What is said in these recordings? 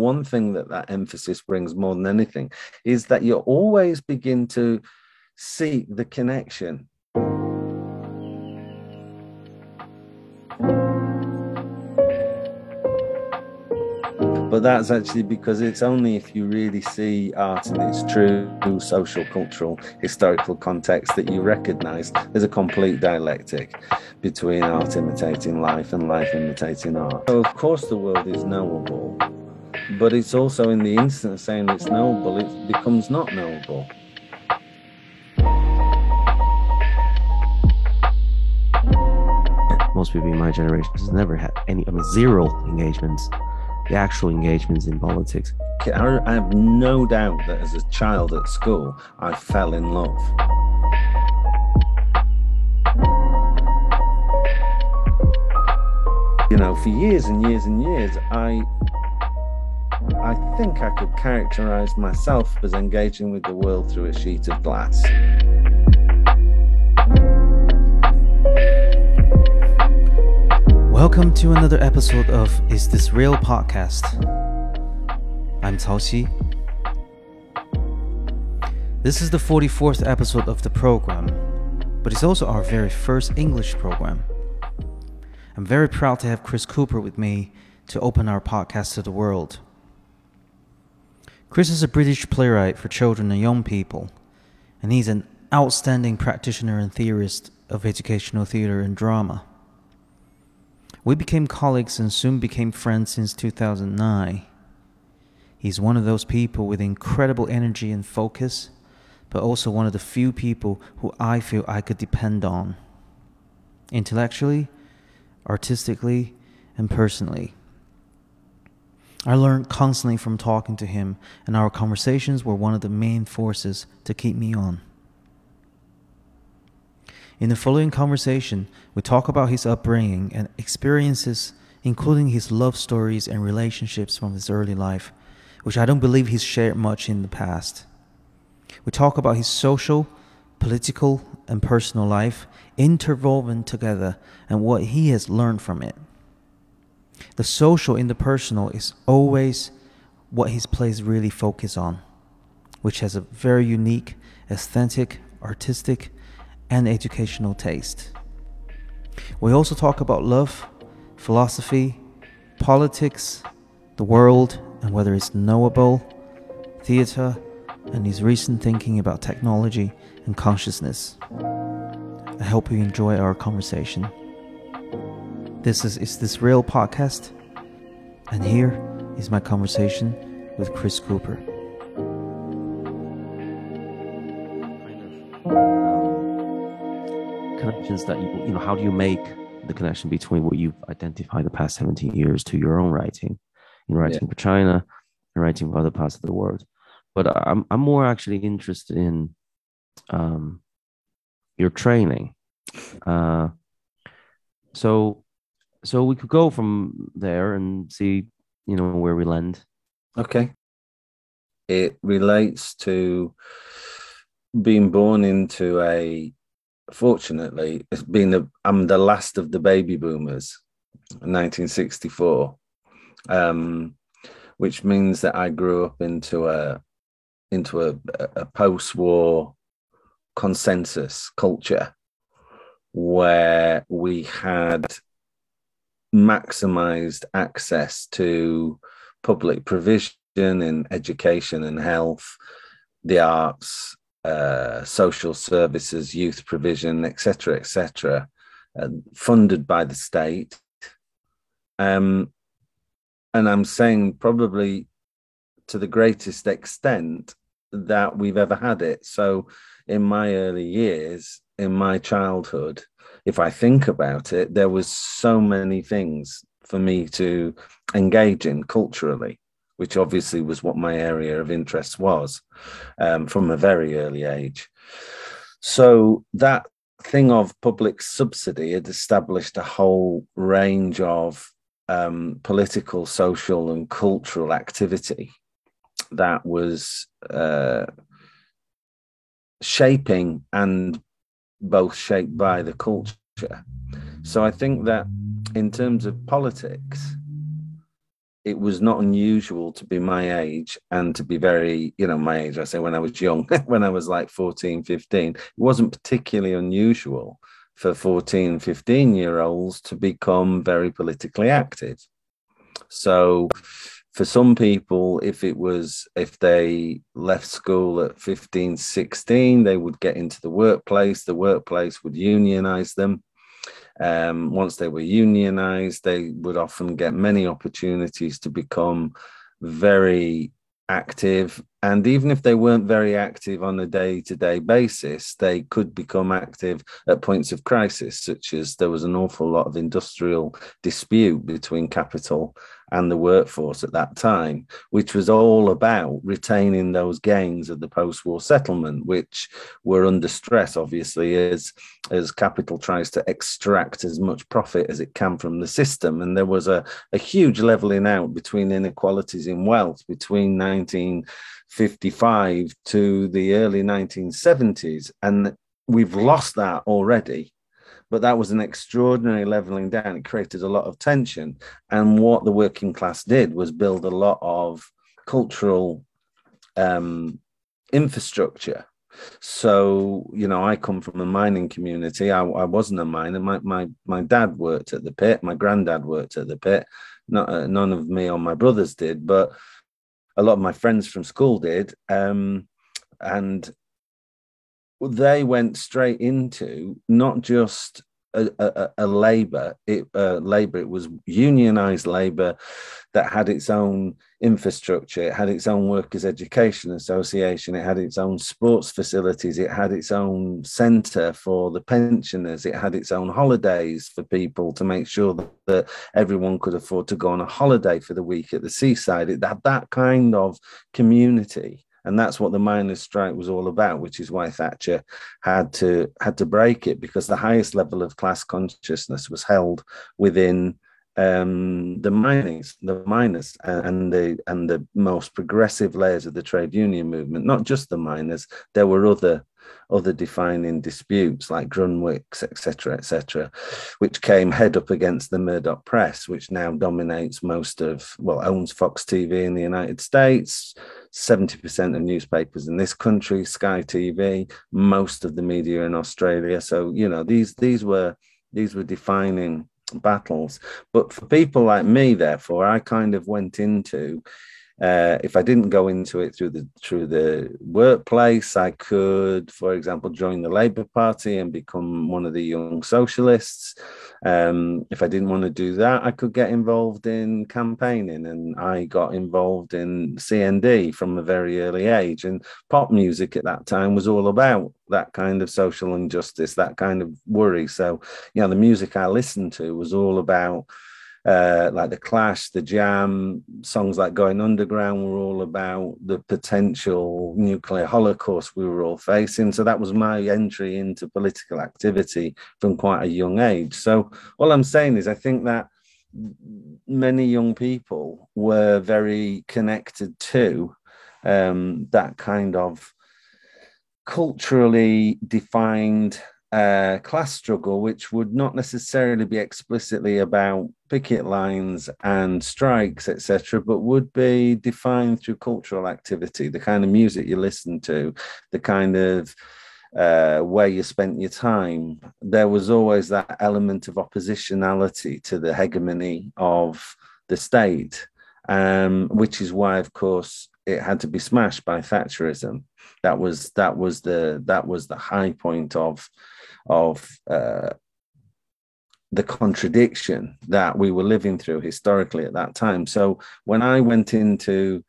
one thing that emphasis brings more than anything is that you always begin to see the connection. But that's actually because it's only if you really see art in its true social, cultural, historical context that you recognize there's a complete dialectic between art imitating life and life imitating art. So, of course, the world is knowable, but it's also in the instant of saying it's knowable, it becomes not knowable. Most people in my generation has never had zero engagements. The actual engagements in politics. I have no doubt that as a child at school, I fell in love. You know, for years and years and years, I think I could characterize myself as engaging with the world through a sheet of glass. Welcome to another episode of Is This Real podcast. I'm Cao Xi. This is the 44th episode of the program, but it's also our very first English program. I'm very proud to have Chris Cooper with me to open our podcast to the world. Chris is a British playwright for children and young people, and he's an outstanding practitioner and theorist of educational theatre and drama. We became colleagues and soon became friends since 2009. He's one of those people with incredible energy and focus, but also one of the few people who I feel I could depend on. Intellectually, artistically, and personally. I learned constantly from talking to him, and our conversations were one of the main forces to keep me on. In the following conversation, we talk about his upbringing and experiences, including his love stories and relationships from his early life, which I don't believe he's shared much in the past. We talk about his social, political, and personal life interwoven together and what he has learned from it. The social in the personal is always what his plays really focus on, which has a very unique, aesthetic, artistic, and educational taste. We also talk about love, philosophy, politics, the world, and whether it's knowable, theatre, and his recent thinking about technology and consciousness. I hope you enjoy our conversation. This is This Real podcast, and here is my conversation with Chris Cooper. Connections that you know, how do you make the connection between what you've identified the past 17 years to your own writing, in writing for China and writing for other parts of the world? But I'm more actually interested in your training. So we could go from there and see, where we land. Okay. It relates to being born into fortunately, I'm the last of the baby boomers, 1964, which means that I grew up into a post-war consensus culture where we had maximized access to public provision in education and health, the arts, social services, youth provision, etc., funded by the state. And I'm saying probably to the greatest extent that we've ever had it. So in my early years, in my childhood, if I think about it, there was so many things for me to engage in culturally, which obviously was what my area of interest was from a very early age. So that thing of public subsidy had established a whole range of political, social, and cultural activity that was shaping and both shaped by the culture. So I think that in terms of politics, it was not unusual to be my age and to be very, my age, I say when I was young, when I was like 14, 15, it wasn't particularly unusual for 14, 15-year-olds to become very politically active. So for some people, if they left school at 15, 16, they would get into the workplace would unionize them. Once they were unionized, they would often get many opportunities to become very active. And even if they weren't very active on a day-to-day basis, they could become active at points of crisis, such as there was an awful lot of industrial dispute between capital and the workforce at that time, which was all about retaining those gains of the post-war settlement, which were under stress, obviously, as capital tries to extract as much profit as it can from the system. And there was a huge leveling out between inequalities in wealth between 1955 to the early 1970s. And we've lost that already. But that was an extraordinary leveling down. It created a lot of tension. And what the working class did was build a lot of cultural infrastructure. So, I come from a mining community. I wasn't a miner. My dad worked at the pit. My granddad worked at the pit. None of me or my brothers did, but a lot of my friends from school did. And they went straight into not just a labor, it was unionized labor that had its own infrastructure. It had its own workers' education association. It had its own sports facilities. It had its own center for the pensioners. It had its own holidays for people to make sure that everyone could afford to go on a holiday for the week at the seaside. It had that kind of community. And that's what the miners' strike was all about, which is why Thatcher had to break it, because the highest level of class consciousness was held within the miners and the most progressive layers of the trade union movement. Not just the miners, there were other defining disputes like Grunwick's, etc., which came head up against the Murdoch press, which now dominates owns Fox TV in the United States, 70% of newspapers in this country, Sky TV, most of the media in Australia. So, these were defining battles. But for people like me, therefore, I kind of went into, if I didn't go into it through the workplace, I could, for example, join the Labour Party and become one of the young socialists. If I didn't want to do that, I could get involved in campaigning, and I got involved in CND from a very early age. And pop music at that time was all about that kind of social injustice, that kind of worry. So, the music I listened to was all about like the Clash, the Jam, songs like Going Underground were all about the potential nuclear holocaust we were all facing. So that was my entry into political activity from quite a young age. So all I'm saying is I think that many young people were very connected to that kind of culturally defined class struggle, which would not necessarily be explicitly about picket lines and strikes, etc., but would be defined through cultural activity, the kind of music you listen to, the kind of where you spent your time. There was always that element of oppositionality to the hegemony of the state, which is why, of course, it had to be smashed by Thatcherism. That was the high point of the contradiction that we were living through historically at that time. So when I went into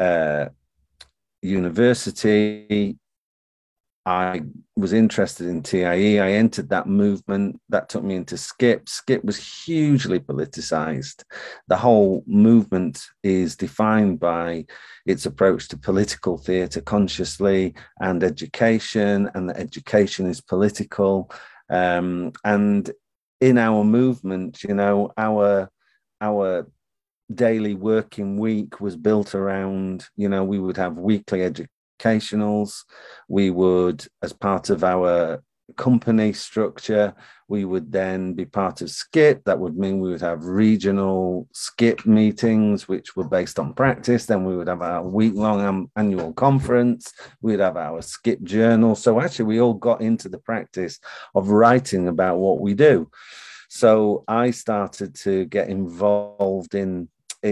university, I was interested in TIE. I entered that movement. That took me into Skip. Skip was hugely politicized. The whole movement is defined by its approach to political theatre consciously and education, and that education is political. And in our movement, our daily working week was built around, we would have weekly educationals. We would, as part of our company structure. We would then be part of Skip. That would mean we would have regional Skip meetings, which were based on practice. Then we would have our week-long annual conference. We'd have our Skip journal. So actually, we all got into the practice of writing about what we do. So I started to get involved in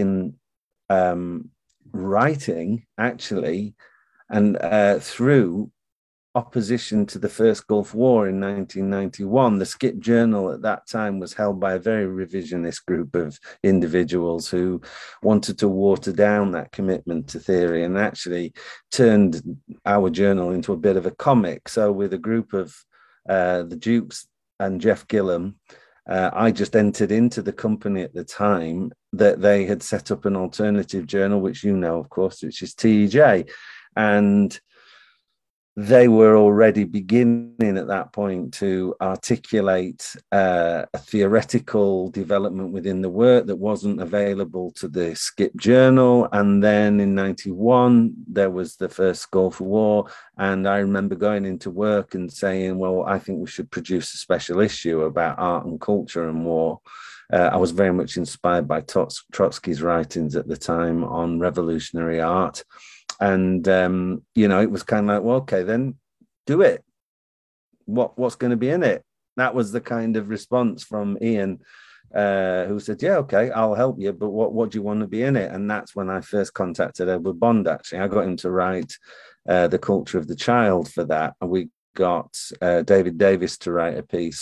writing, actually, and through opposition to the first Gulf War in 1991. The Skip Journal at that time was held by a very revisionist group of individuals who wanted to water down that commitment to theory, and actually turned our journal into a bit of a comic. So with a group of the Dukes and Jeff Gillam, I just entered into the company at the time that they had set up an alternative journal, which you know, of course, which is TEJ. And they were already beginning at that point to articulate a theoretical development within the work that wasn't available to the Skip Journal. And then in 91, there was the first Gulf War. And I remember going into work and saying, well, I think we should produce a special issue about art and culture and war. I was very much inspired by Trotsky's writings at the time on revolutionary art. And, it was kind of like, well, okay, then do it. What's going to be in it? That was the kind of response from Ian, who said, yeah, okay, I'll help you. But what do you want to be in it? And that's when I first contacted Edward Bond, actually. I got him to write The Culture of the Child for that. And we got David Davis to write a piece.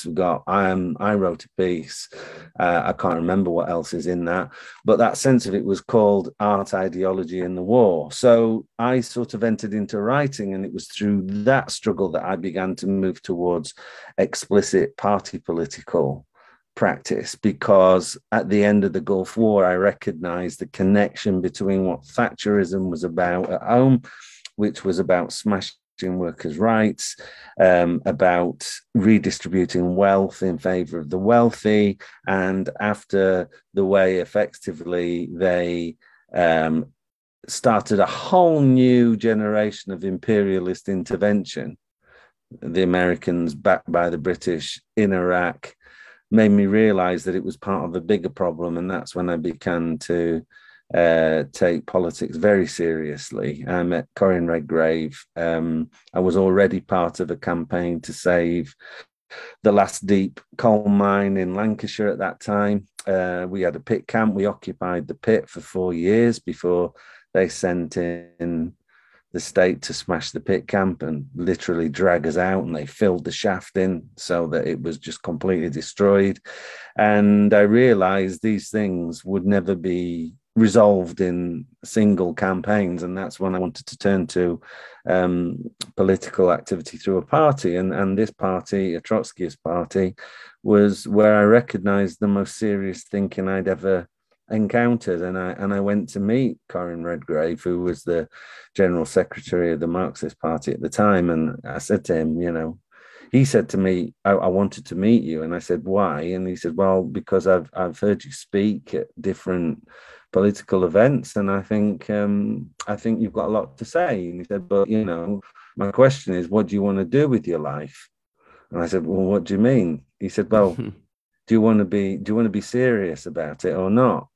I wrote a piece. I can't remember what else is in that, but that sense of it was called Art, Ideology in the War. So I sort of entered into writing, and it was through that struggle that I began to move towards explicit party political practice, because at the end of the Gulf War, I recognized the connection between what Thatcherism was about at home, which was about smashing workers' rights, about redistributing wealth in favor of the wealthy, and after the way effectively they started a whole new generation of imperialist intervention. The Americans, backed by the British in Iraq, made me realize that it was part of a bigger problem, and that's when I began to take politics very seriously. I met Corinne Redgrave. I was already part of a campaign to save the last deep coal mine in Lancashire at that time. We had a pit camp. We occupied the pit for 4 years before they sent in the state to smash the pit camp and literally drag us out, and they filled the shaft in so that it was just completely destroyed. And I realized these things would never be resolved in single campaigns, and that's when I wanted to turn to political activity through a party, and this party, a Trotskyist party, was where I recognized the most serious thinking I'd ever encountered. And I went to meet Corinne Redgrave, who was the general secretary of the Marxist Party at the time, and I said to him, he said to me, I wanted to meet you. And I said, why? And he said, well, because I've heard you speak at different political events, and I think you've got a lot to say. And he said, but my question is, what do you want to do with your life? And I said, well, what do you mean? He said, well, do you want to be serious about it or not?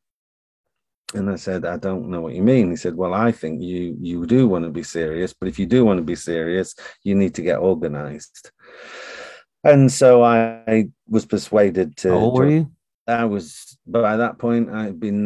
And I said, I don't know what you mean. He said, well, I think you do want to be serious, but if you do want to be serious, you need to get organized. And so I was persuaded to. How old were you? I was, by that point, I'd been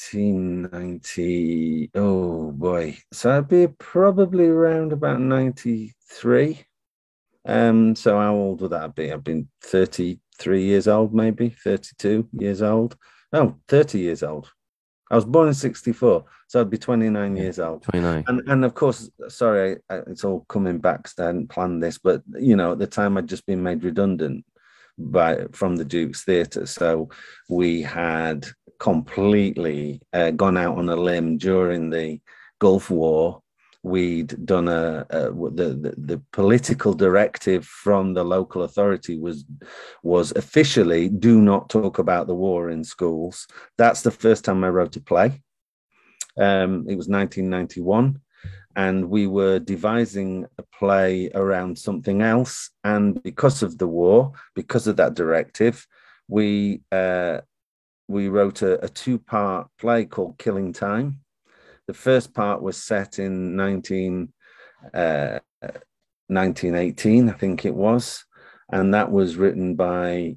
1990. Oh boy. So I'd be probably around about 93. So how old would that be? I've been 33 years old, maybe 32 years old. No, 30 years old. I was born in 64, so I'd be 29 years old. 29. And of course, sorry, it's all coming back, so I hadn't planned this, but, at the time I'd just been made redundant from the Duke's Theatre. So we had completely gone out on a limb during the Gulf War. We'd done the political directive from the local authority was officially do not talk about the war in schools. That's the first time I wrote a play. It was 1991. and we were devising a play around something else. And because of the war, because of that directive, we wrote a two-part play called Killing Time. The first part was set in 1918, I think it was, and that was written by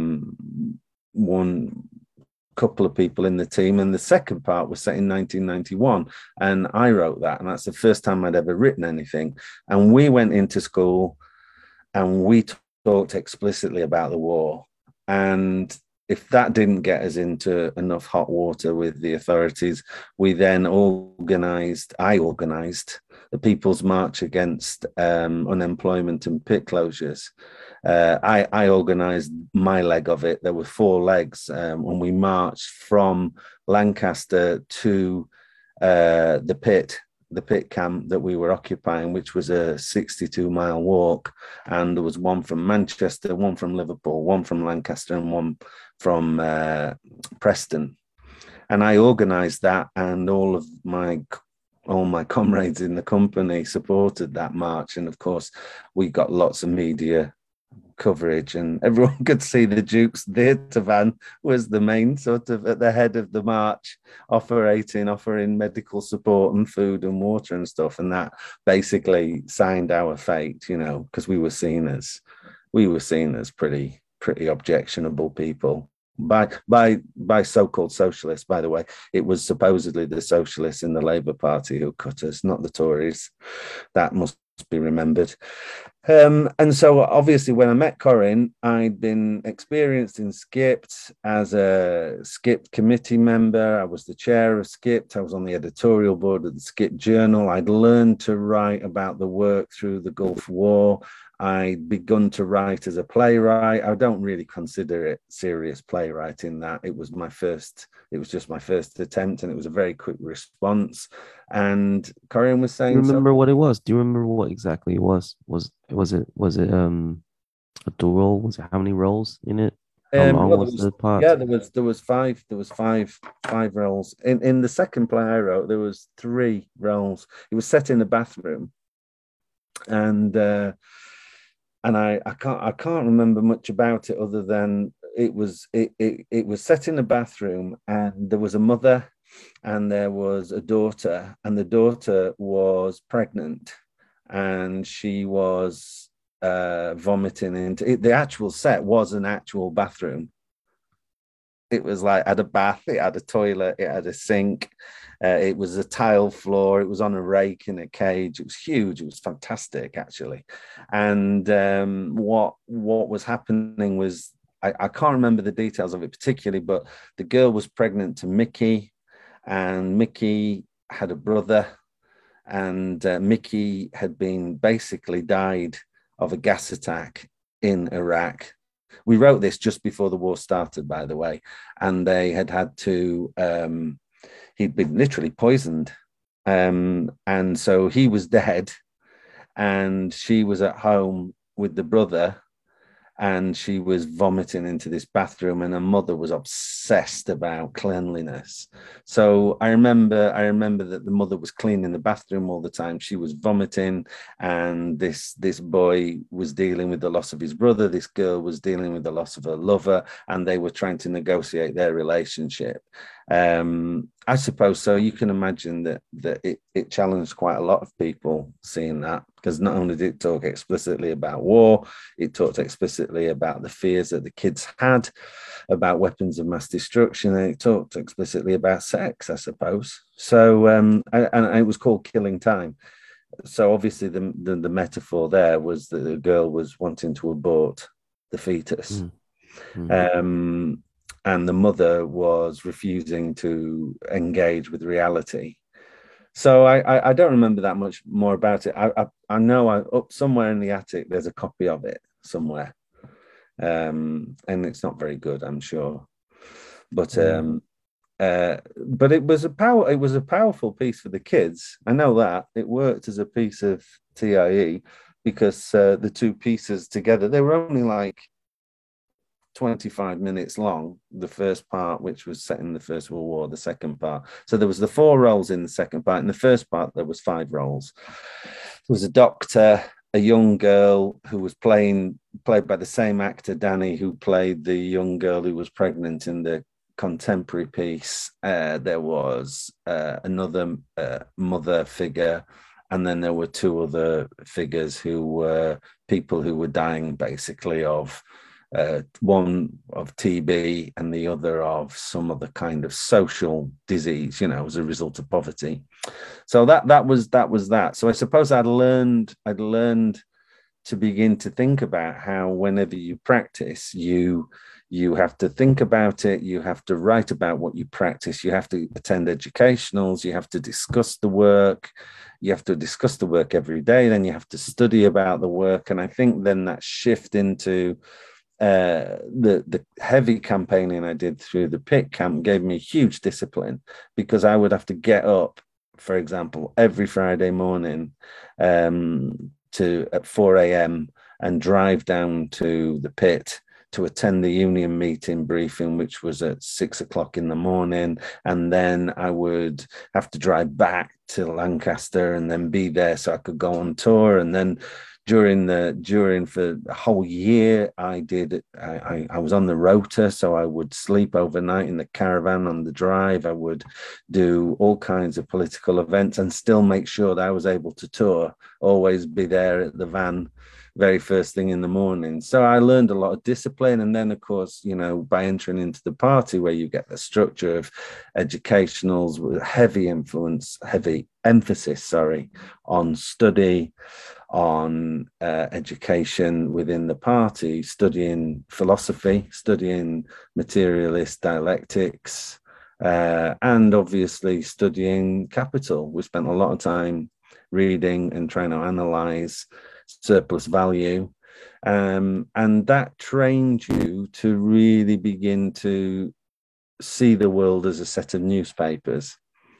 one couple of people in the team. And the second part was set in 1991, and I wrote that, and that's the first time I'd ever written anything. And we went into school and we talked explicitly about the war. And if that didn't get us into enough hot water with the authorities, I organized the People's March against unemployment and pit closures. I organized my leg of it. There were 4 legs, and we marched from Lancaster to the pit camp that we were occupying, which was a 62-mile walk. And there was one from Manchester, one from Liverpool, one from Lancaster, and one from Preston. And I organized that, and all my comrades in the company supported that march. And of course, we got lots of media coverage, and everyone could see the Duke's theatre van was the main sort of at the head of the march, offering medical support and food and water and stuff. And that basically signed our fate, because we were seen as pretty objectionable people by so-called socialists. By the way, it was supposedly the socialists in the Labour Party who cut us, not the Tories. That must be remembered. And so obviously when I met Corinne, I'd been experienced in Skipt as a Skipt committee member. I was the chair of Skipt. I was on the editorial board of the Skipt Journal. I'd learned to write about the work through the Gulf War. I'd begun to write as a playwright. I don't really consider it serious playwriting. That it was just my first attempt, and it was a very quick response. And Corinne was saying, do you remember what it was? Do you remember what exactly it was? Was it a dual role? Was it how many roles in it? How long was the part? Yeah, there was five roles. In the second play I wrote, there was 3 roles. It was set in a bathroom, and I can't remember much about it other than it was set in a bathroom, and there was a mother and there was a daughter, and the daughter was pregnant, and she was vomiting into it. The actual set was an actual bathroom. It was like, had a bath, it had a toilet, it had a sink, it was a tile floor, it was on a rake in a cage. It was huge. It was fantastic, actually. And what was happening was, I can't remember the details of it particularly, but the girl was pregnant to Mickey, and Mickey had a brother, and Mickey had been basically died of a gas attack in Iraq. We wrote this just before the war started, by the way, and they had to, he'd been literally poisoned. And so he was dead, and she was at home with the brother, and she was vomiting into this bathroom, and her mother was obsessed about cleanliness. So I remember that the mother was cleaning the bathroom all the time. She was vomiting, and this boy was dealing with the loss of his brother. This girl was dealing with the loss of her lover, and they were trying to negotiate their relationship. I suppose so. You can imagine that it challenged quite a lot of people seeing that, because not only did it talk explicitly about war, it talked explicitly about the fears that the kids had about weapons of mass destruction, and it talked explicitly about sex, I suppose. So, and it was called Killing Time. So obviously the metaphor there was that the girl was wanting to abort the fetus. And the mother was refusing to engage with reality. So I don't remember that much more about it. I know up somewhere in the attic there's a copy of it somewhere, and it's not very good, I'm sure. But it was a powerful piece for the kids. I know that it worked as a piece of TIE, because the 2 pieces together, they were only like 25 minutes long, the first part, which was set in the First World War, the second part. So there was the 4 roles in the second part. In the first part, there was 5 roles. There was a doctor, a young girl who was played by the same actor, Danny, who played the young girl who was pregnant in the contemporary piece. There was another mother figure, and then there were 2 other figures who were people who were dying basically of one of TB and the other of some other kind of social disease, as a result of poverty. So that was that. So I suppose I'd learned to begin to think about how whenever you practice, you have to think about it, you have to write about what you practice, you have to attend educationals, you have to discuss the work, every day, then you have to study about the work. And I think then that shift into the heavy campaigning I did through the pit camp gave me huge discipline, because I would have to get up, for example, every Friday morning at 4 a.m. and drive down to the pit to attend the union meeting briefing, which was at 6 o'clock in the morning. And then I would have to drive back to Lancaster and then be there so I could go on tour. And then during for a whole year, I was on the rota, so I would sleep overnight in the caravan on the drive. I would do all kinds of political events and still make sure that I was able to tour, always be there at the van very first thing in the morning. So I learned a lot of discipline. And then, of course, by entering into the party, where you get the structure of educationals with heavy emphasis on study, on education within the party, studying philosophy, studying materialist dialectics, and obviously studying capital. We spent a lot of time reading and trying to analyze surplus value, and that trained you to really begin to see the world as a set of newspapers.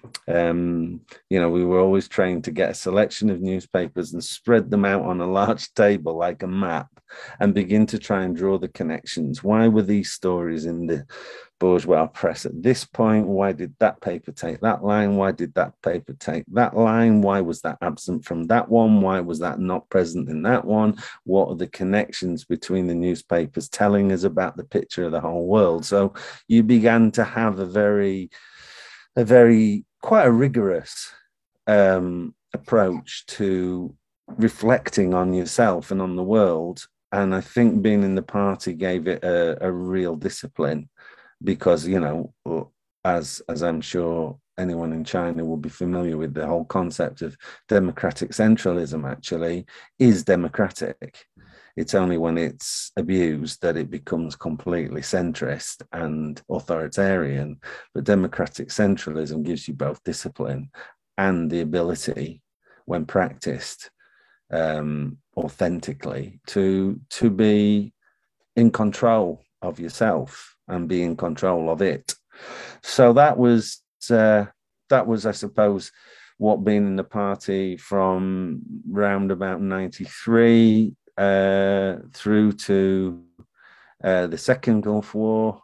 We were always trained to get a selection of newspapers and spread them out on a large table like a map and begin to try and draw the connections. Why were these stories in the bourgeois press at this point? Why did that paper take that line? Why did that paper take that line? Why was that absent from that one? Why was that not present in that one? What are the connections between the newspapers telling us about the picture of the whole world? So you began to have a very quite a rigorous approach to reflecting on yourself and on the world. And I think being in the party gave it a real discipline, because, as I'm sure anyone in China will be familiar with, the whole concept of democratic centralism actually is democratic. It's only when it's abused that it becomes completely centrist and authoritarian. But democratic centralism gives you both discipline and the ability, when practiced authentically, to be in control of yourself and be in control of it. So that was, I suppose, what being in the party from round about 93 through to the Second Gulf War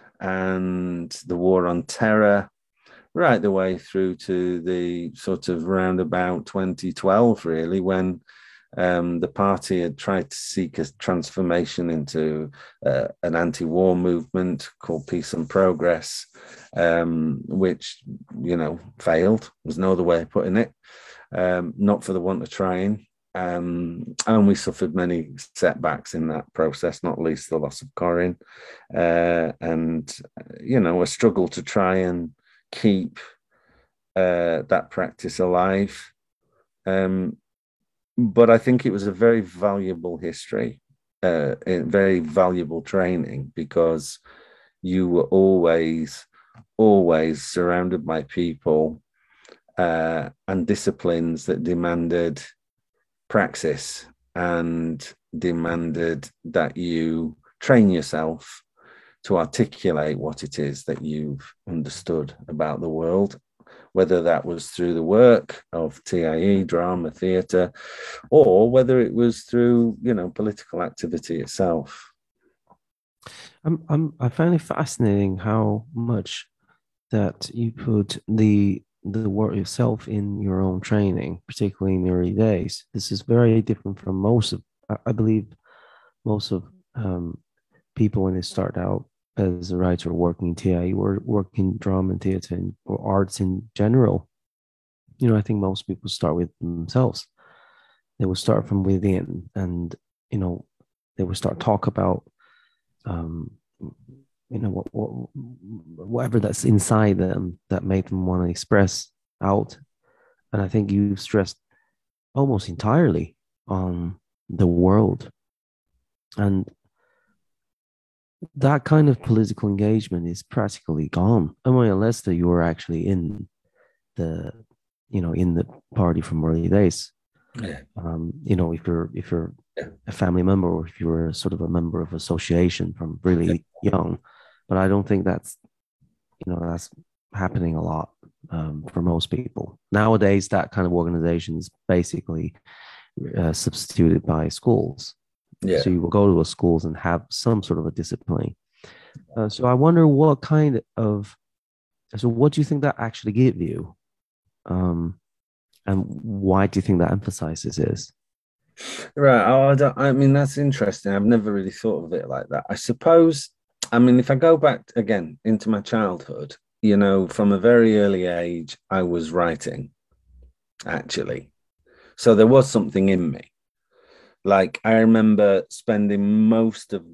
and the War on Terror, right the way through to the sort of roundabout 2012, really, when the party had tried to seek a transformation into an anti-war movement called Peace and Progress, which, failed. There's no other way of putting it. Not for the want of trying. And we suffered many setbacks in that process, not least the loss of Corinne, and a struggle to try and keep that practice alive. But I think it was a very valuable history, very valuable training, because you were always surrounded by people and disciplines that demanded praxis and demanded that you train yourself to articulate what it is that you've understood about the world, whether that was through the work of TIE, drama, theatre, or whether it was through, political activity itself. I find it fascinating how much that you put the work yourself in your own training, particularly in the early days. This is very different from most of, I believe, most of people when they start out as a writer working in TI or working drama and theater or arts in general. I think most people start with themselves. They will start from within, and they will start talk about um, whatever that's inside them that made them want to express out. And I think you've stressed almost entirely on the world, and that kind of political engagement is practically gone. I mean, unless that you're actually in the in the party from early days. Yeah. If you're a family member or if you're sort of a member of association from really young, but I don't think that's happening a lot for most people nowadays. That kind of organization is basically substituted by schools. Yeah. So you will go to those schools and have some sort of a discipline. So I wonder what do you think that actually give you? And why do you think that emphasizes is? Right. I mean, that's interesting. I've never really thought of it like that. I suppose, I mean, if I go back again into my childhood, from a very early age, I was writing, actually. So there was something in me. Like, I remember spending most of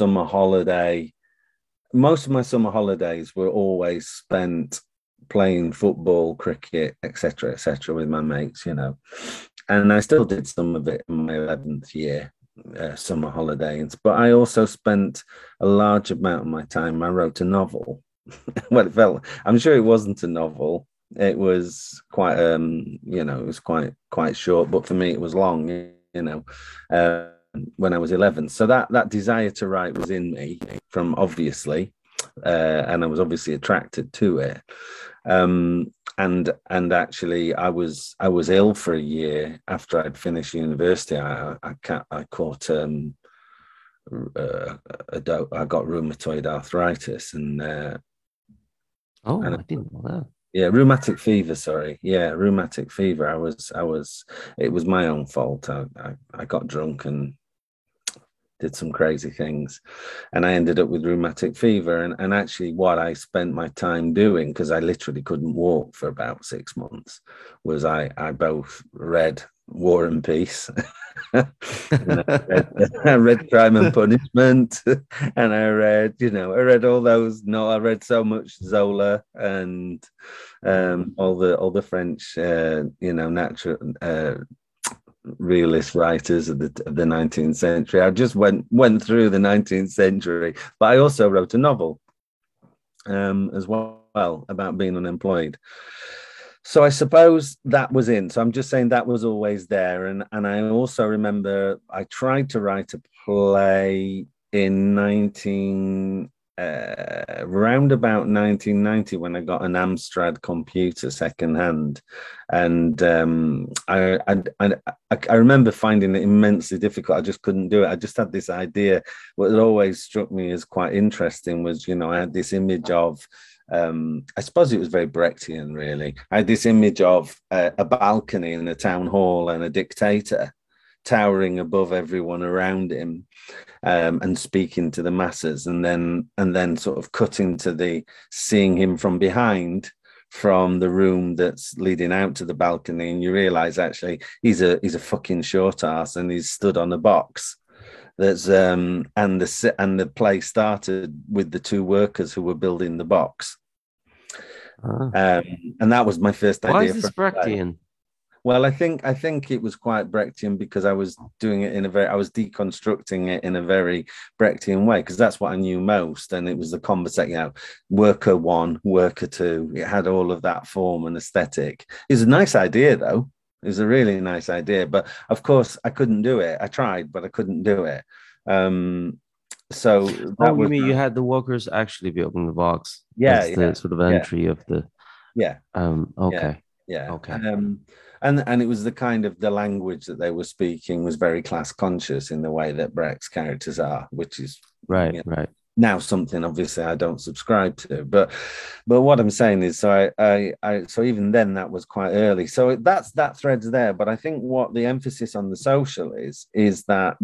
my summer holidays were always spent playing football, cricket, etc., with my mates, and I still did some of it in my 11th year, summer holidays. But I also spent a large amount of my time. I wrote a novel. Well, I'm sure it wasn't a novel. It was quite, it was quite short. But for me, it was long. Uh, when I was 11. So that desire to write was in me from obviously, and I was obviously attracted to it. And actually, I was ill for a year after I'd finished university. I caught I got rheumatoid arthritis Oh, and I didn't know that. yeah, rheumatic fever. Sorry, yeah, rheumatic fever. It was my own fault. I got drunk and did some crazy things, and I ended up with rheumatic fever. And actually, what I spent my time doing, because I literally couldn't walk for about 6 months, was I both read War and Peace. And I read Crime and Punishment, and I read all those. No, I read so much Zola and all the French, natural realist writers of the 19th century. I just went through the 19th century, but I also wrote a novel as well about being unemployed. So I suppose that was in. So I'm just saying that was always there. And I also remember I tried to write a play in around about 1990 when I got an Amstrad computer secondhand, and I remember finding it immensely difficult. I just couldn't do it. I just had this idea. What had always struck me as quite interesting was, I had this image of I suppose it was very Brechtian, really. I had this image of a balcony in a town hall and a dictator towering above everyone around him, and speaking to the masses, and then sort of cutting to seeing him from behind from the room that's leading out to the balcony, and you realize actually he's a fucking short ass and he's stood on a box. That's and the play started with the two workers who were building the box. And that was my first idea. Why is this Brechtian? Well, I think it was quite Brechtian because I was doing it I was deconstructing it in a very Brechtian way, because that's what I knew most. And it was the conversation, worker one, worker two. It had all of that form and aesthetic. It was a nice idea, though. It was a really nice idea. But of course, I couldn't do it. I tried, but I couldn't do it. So that you mean you had the workers actually building the box? Yeah, as the sort of entry of the. Yeah. Okay. Yeah. Okay. And it was the kind of the language that they were speaking was very class conscious in the way that Brecht's characters are, which is, Right, you know, right. now something obviously I don't subscribe to. But what I'm saying is, so even then that was quite early. So that thread's there. But I think what the emphasis on the social is that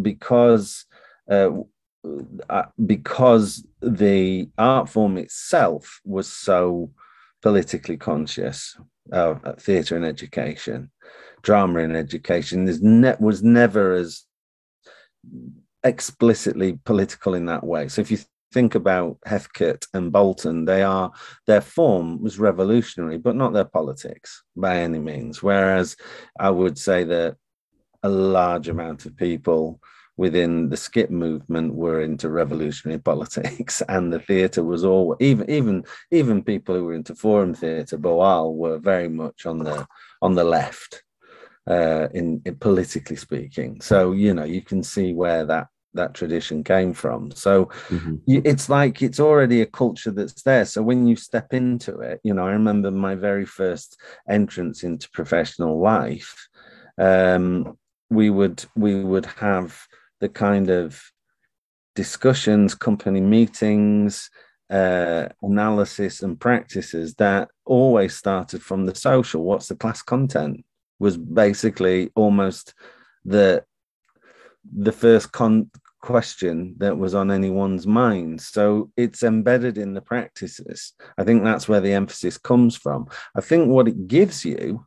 because the art form itself was so politically conscious, theatre and education, drama and education, was never as explicitly political in that way. So if you think about Heathcote and Bolton, their form was revolutionary, but not their politics by any means. Whereas I would say that a large amount of people within the skip movement were into revolutionary politics, and the theatre was all even people who were into forum theatre, Boal, were very much on the left, in politically speaking. So you can see where that tradition came from. So it's like it's already a culture that's there. So when you step into it, I remember my very first entrance into professional life. We would have the kind of discussions, company meetings, analysis and practices that always started from the social. What's the class content was basically almost the first question that was on anyone's mind. So it's embedded in the practices. I think that's where the emphasis comes from. I think what it gives you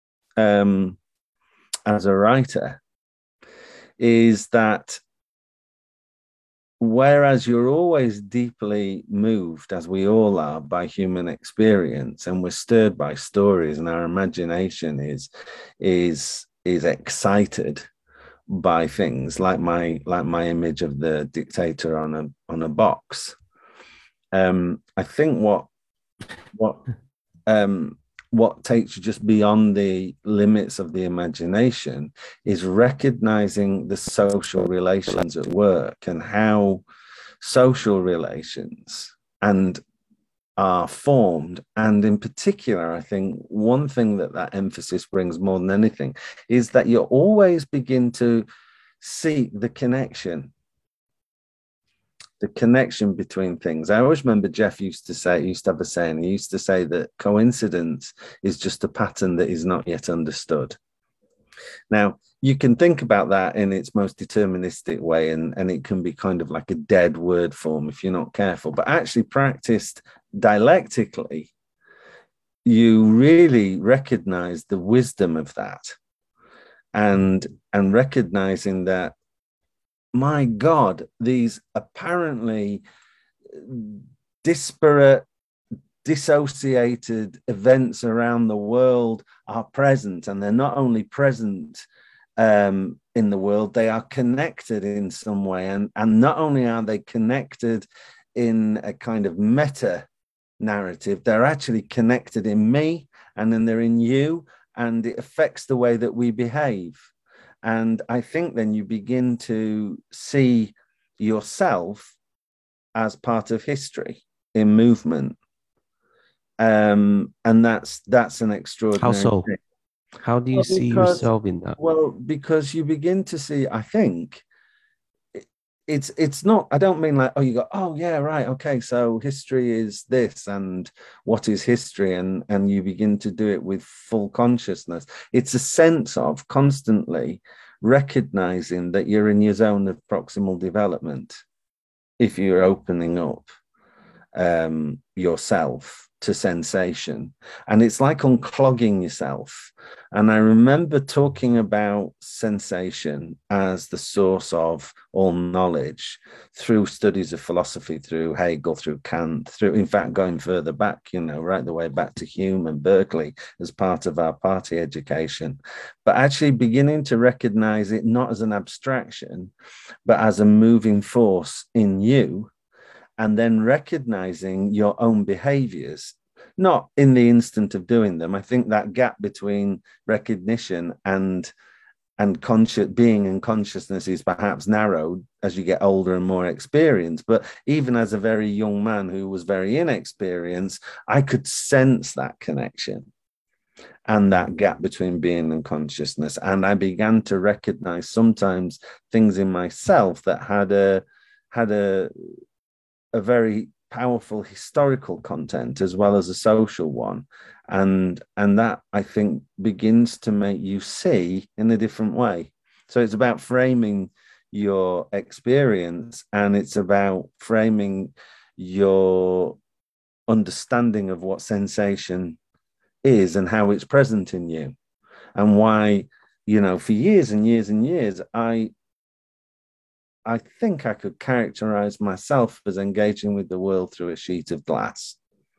as a writer is that whereas you're always deeply moved, as we all are, by human experience, and we're stirred by stories, and our imagination is excited by things like my image of the dictator on a box. I think what takes you just beyond the limits of the imagination is recognizing the social relations at work and how social relations are formed. And in particular, I think one thing that emphasis brings more than anything is that you always begin to see the connection between things. I always remember Jeff used to have a saying, he used to say that coincidence is just a pattern that is not yet understood. Now, you can think about that in its most deterministic way, and it can be kind of like a dead word form if you're not careful, but actually practiced dialectically, you really recognize the wisdom of that, and recognizing that, my God, these apparently disparate, dissociated events around the world are present, and they're not only present in the world, they are connected in some way, and not only are they connected in a kind of meta narrative, they're actually connected in me, and then they're in you, and it affects the way that we behave. And I think then you begin to see yourself as part of history in movement. And that's an extraordinary How so? thing. How do you see yourself in that? Well, because you begin to see, I think, it's not, I don't mean like, oh, you go, oh yeah, right, okay, so history is this, and what is history, and you begin to do it with full consciousness. It's a sense of constantly recognizing that you're in your zone of proximal development if you're opening up yourself to sensation, and it's like unclogging yourself. And I remember talking about sensation as the source of all knowledge through studies of philosophy, through Hegel, through Kant, through, in fact, going further back, right the way back to Hume and Berkeley as part of our party education, but actually beginning to recognize it not as an abstraction, but as a moving force in you, and then recognizing your own behaviors, not in the instant of doing them. I think that gap between recognition and conscious being and consciousness is perhaps narrowed as you get older and more experienced. But even as a very young man who was very inexperienced, I could sense that connection. and that gap between being and consciousness. And I began to recognize sometimes things in myself that had a very powerful historical content as well as a social one. And that, I think, begins to make you see in a different way. So it's about framing your experience, and it's about framing your understanding of what sensation is and how it's present in you, and why, for years and years and years, I think I could characterize myself as engaging with the world through a sheet of glass.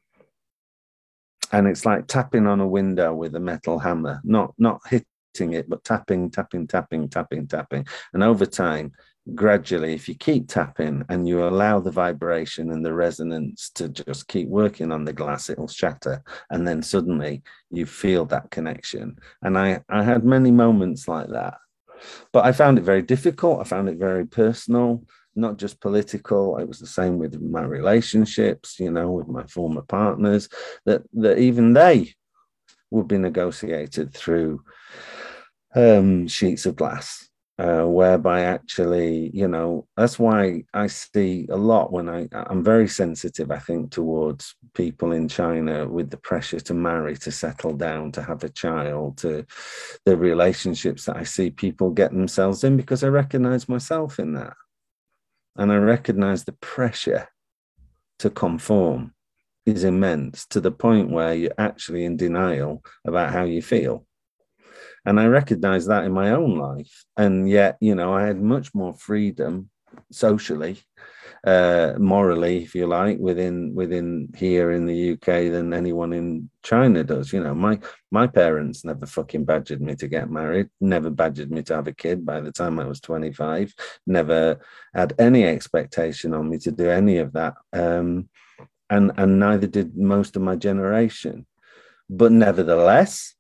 And it's like tapping on a window with a metal hammer, not hitting it, but tapping. And over time, gradually, if you keep tapping and you allow the vibration and the resonance to just keep working on the glass, it'll shatter. And then suddenly you feel that connection. And I had many moments like that. But I found it very difficult. I found it very personal, not just political. It was the same with my relationships, with my former partners, that even they would be negotiated through sheets of glass, whereby actually, that's why I see a lot when I'm very sensitive, I think, towards people in China with the pressure to marry, to settle down, to have a child, to the relationships that I see people get themselves in, because I recognize myself in that. And I recognize the pressure to conform is immense, to the point where you're actually in denial about how you feel. And I recognize that in my own life. And yet, I had much more freedom socially, morally, if you like, within here in the UK than anyone in China does. My parents never fucking badgered me to get married, never badgered me to have a kid by the time I was 25, never had any expectation on me to do any of that. And neither did most of my generation. But nevertheless,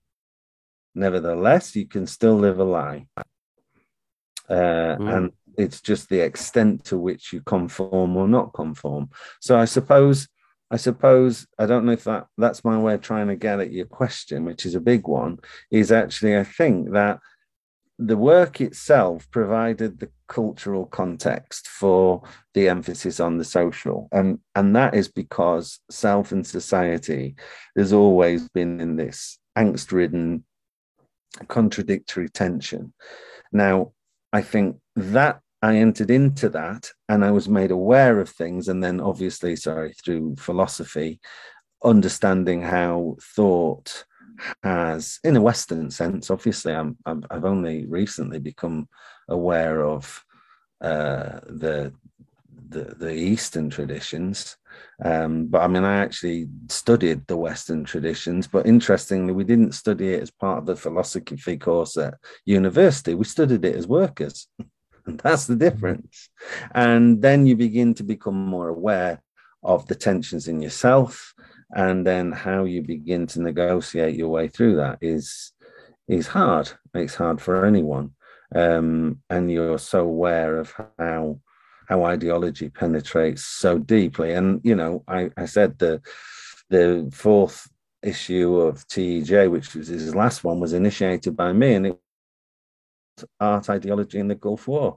you can still live a lie. And it's just the extent to which you conform or not conform. So I suppose, I don't know if that's my way of trying to get at your question, which is a big one, is actually, I think that the work itself provided the cultural context for the emphasis on the social. And that is because self and society has always been in this angst-ridden, contradictory tension. Now, I think that I entered into that and I was made aware of things. And then obviously, through philosophy, understanding how thought has, in a Western sense, obviously I've only recently become aware of the Eastern traditions. But I mean, I actually studied the Western traditions, but interestingly, we didn't study it as part of the philosophy course at university. We studied it as workers. And that's the difference. And then you begin to become more aware of the tensions in yourself, and then how you begin to negotiate your way through that is hard. It's hard for anyone. And you're so aware of how ideology penetrates so deeply. And, I said the fourth issue of TEJ, which was his last one, was initiated by me, and it was art, ideology, and the Gulf War.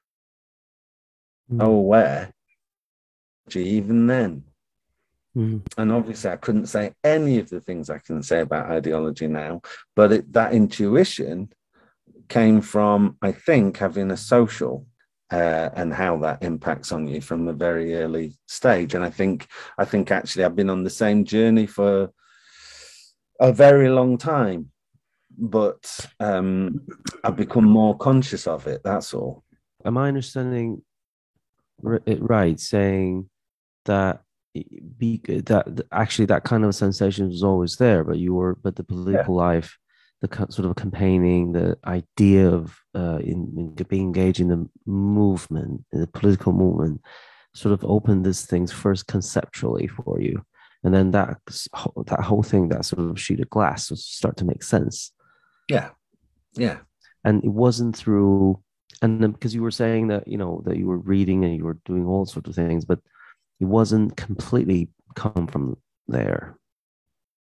Aware, even then. And obviously, I couldn't say any of the things I can say about ideology now, but that intuition came from, I think, having a social and how that impacts on you from a very early stage. And I think actually I've been on the same journey for a very long time, but I've become more conscious of it. That's all. Am I understanding it right, saying that actually that kind of sensation was always there, but the political life, the sort of campaigning, the idea of in being engaged in the movement, in the political movement, sort of opened these things first conceptually for you, and then that whole thing, that sort of sheet of glass, will start to make sense. Yeah. And it wasn't through, and then because you were saying that that you were reading and you were doing all sorts of things, but it wasn't completely come from there.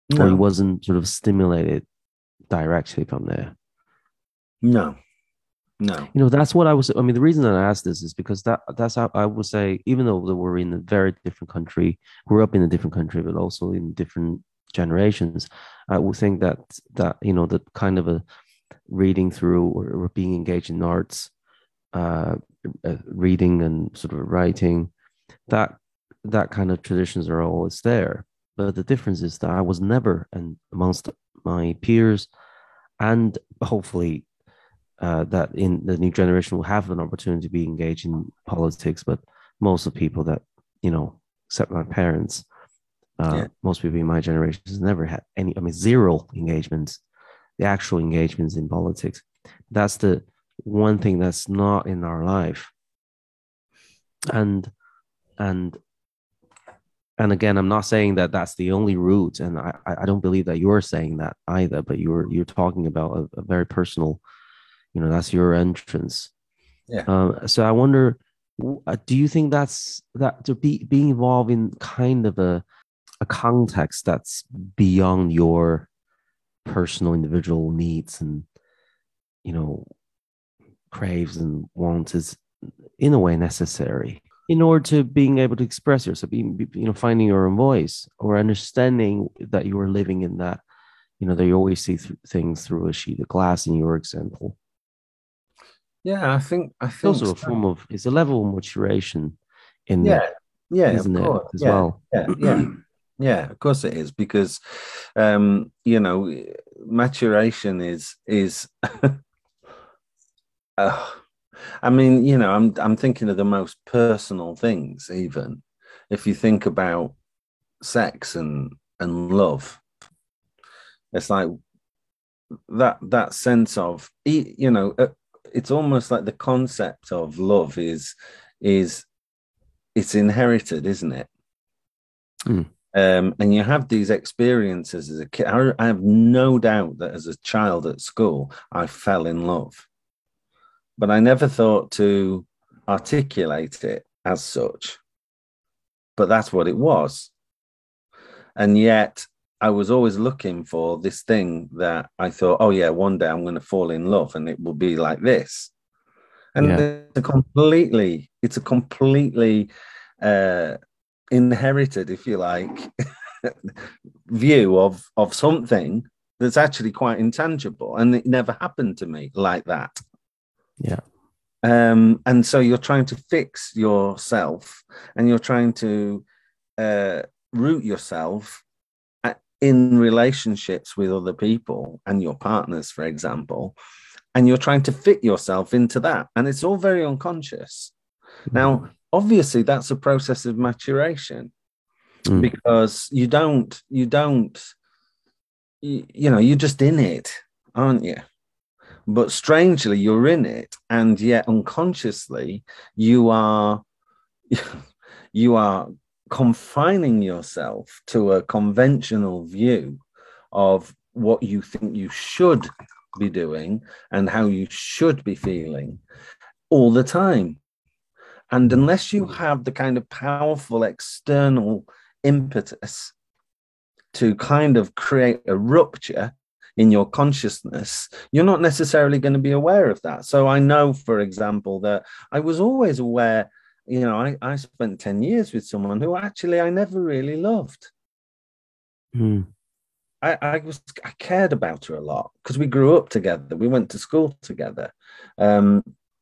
or you No, wasn't sort of stimulated directly from there? no, no. That's what I was. I mean, the reason that I asked this is because that's how I would say, even though that we're in a very different country, grew up in a different country, but also in different generations, I would think that that kind of a reading through or being engaged in arts, uh, reading and sort of writing, that that kind of traditions are always there. But the difference is that I was never, and amongst my peers, and hopefully that in the new generation will have an opportunity to be engaged in politics. But most of the people that, except my parents, Yeah, most people in my generation has never had any, I mean, zero engagements, the actual engagements in politics. That's the one thing that's not in our life. And, and, and again, I'm not saying that that's the only route, and I don't believe that you're saying that either. But you're talking about a very personal, that's your entrance. yeah. So I wonder, do you think that to be being involved in kind of a context that's beyond your personal individual needs and you know craves and wants is in a way necessary in order to being able to express yourself, finding your own voice or understanding that you are living in that, that you always see things through a sheet of glass in your example. Yeah, I It's think also a so. form of, it's a level of maturation in Yeah, it, yeah, of isn't it, course. as Yeah, well? yeah, yeah, yeah. Of course it is because, you know, maturation is. uh, I mean, I'm thinking of the most personal things. Even if you think about sex and love, it's like that sense of, it's almost like the concept of love is it's inherited, isn't it? Mm, And you have these experiences as a kid. I have no doubt that as a child at school, I fell in love, but I never thought to articulate it as such. But that's what it was. And yet I was always looking for this thing that I thought, oh, yeah, one day I'm going to fall in love and it will be like this. And yeah. it's a completely uh, inherited, if you like, view of something that's actually quite intangible, and it never happened to me like that. Yeah. And so you're trying to fix yourself, and you're trying to uh, root yourself in relationships with other people and your partners, for example, and you're trying to fit yourself into that, and it's all very unconscious. Now, obviously, that's a process of maturation Mm, because you're just in it, aren't you? But strangely, you're in it, and yet unconsciously, you are you are confining yourself to a conventional view of what you think you should be doing and how you should be feeling all the time. And mm, unless you have the kind of powerful external impetus to kind of create a rupture in your consciousness, you're not necessarily going to be aware of that. So I know, for example, that I was always aware, I spent 10 years with someone who actually I never really loved. mm, I cared about her a lot because we grew up together. We went to school together. Um,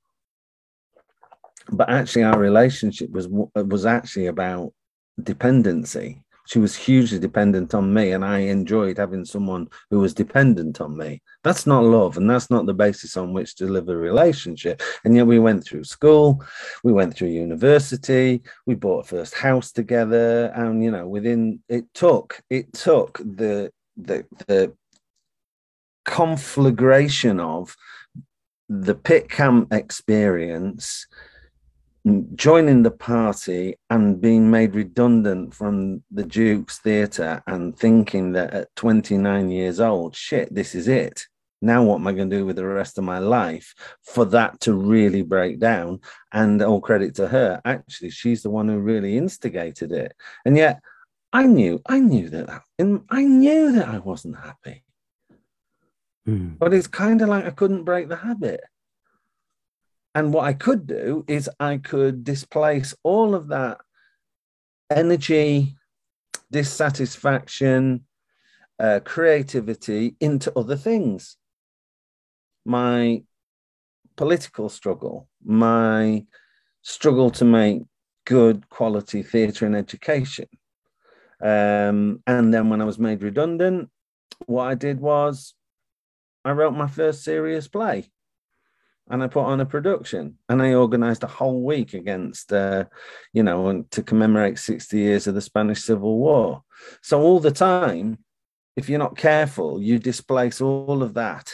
but actually our relationship was actually about dependency. She was hugely dependent on me, and I enjoyed having someone who was dependent on me. That's not love, and that's not the basis on which to live a relationship. And yet we went through school, we went through university, we bought a first house together, and within it took the conflagration of the pit camp experience, joining the party and being made redundant from the Duke's Theatre, and thinking that at 29 years old, shit, this is it. Now what am I going to do with the rest of my life, for that to really break down? And all credit to her. Actually, she's the one who really instigated it. And yet I knew I knew that I wasn't happy. But it's kind of like I couldn't break the habit. And what I could do is I could displace all of that energy, dissatisfaction, creativity into other things. My political struggle, my struggle to make good quality theatre and education. And then when I was made redundant, what I did was I wrote my first serious play and I put on a production and I organized a whole week against, to commemorate 60 years of the Spanish Civil War. So all the time, if you're not careful, you displace all of that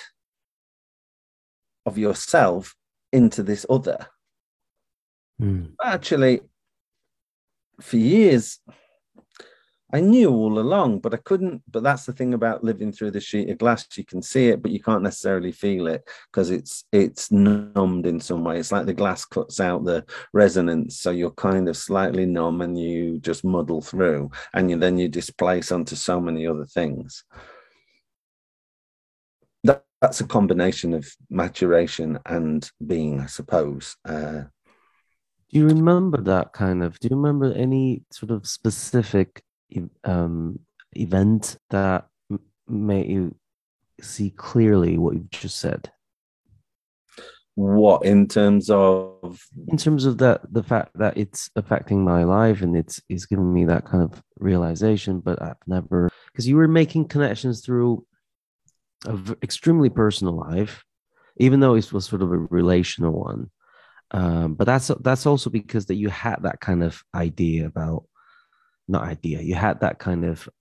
of yourself into this other. Actually, for years, I knew all along, but I couldn't. But that's the thing about living through the sheet of glass. You can see it, but you can't necessarily feel it because it's numbed in some way. It's like the glass cuts out the resonance. So you're kind of slightly numb and you just muddle through, and then you displace onto so many other things. That's a combination of maturation and being, I suppose. Do you remember that kind of? Do you remember any sort of specific event that made you see clearly what you've just said? What, in terms of that, the fact that it's affecting my life and it's giving me that kind of realization, but I've never, because you were making connections through an extremely personal life, even though it was sort of a relational one. But that's also because that you had that kind of idea about, not idea, you had that kind of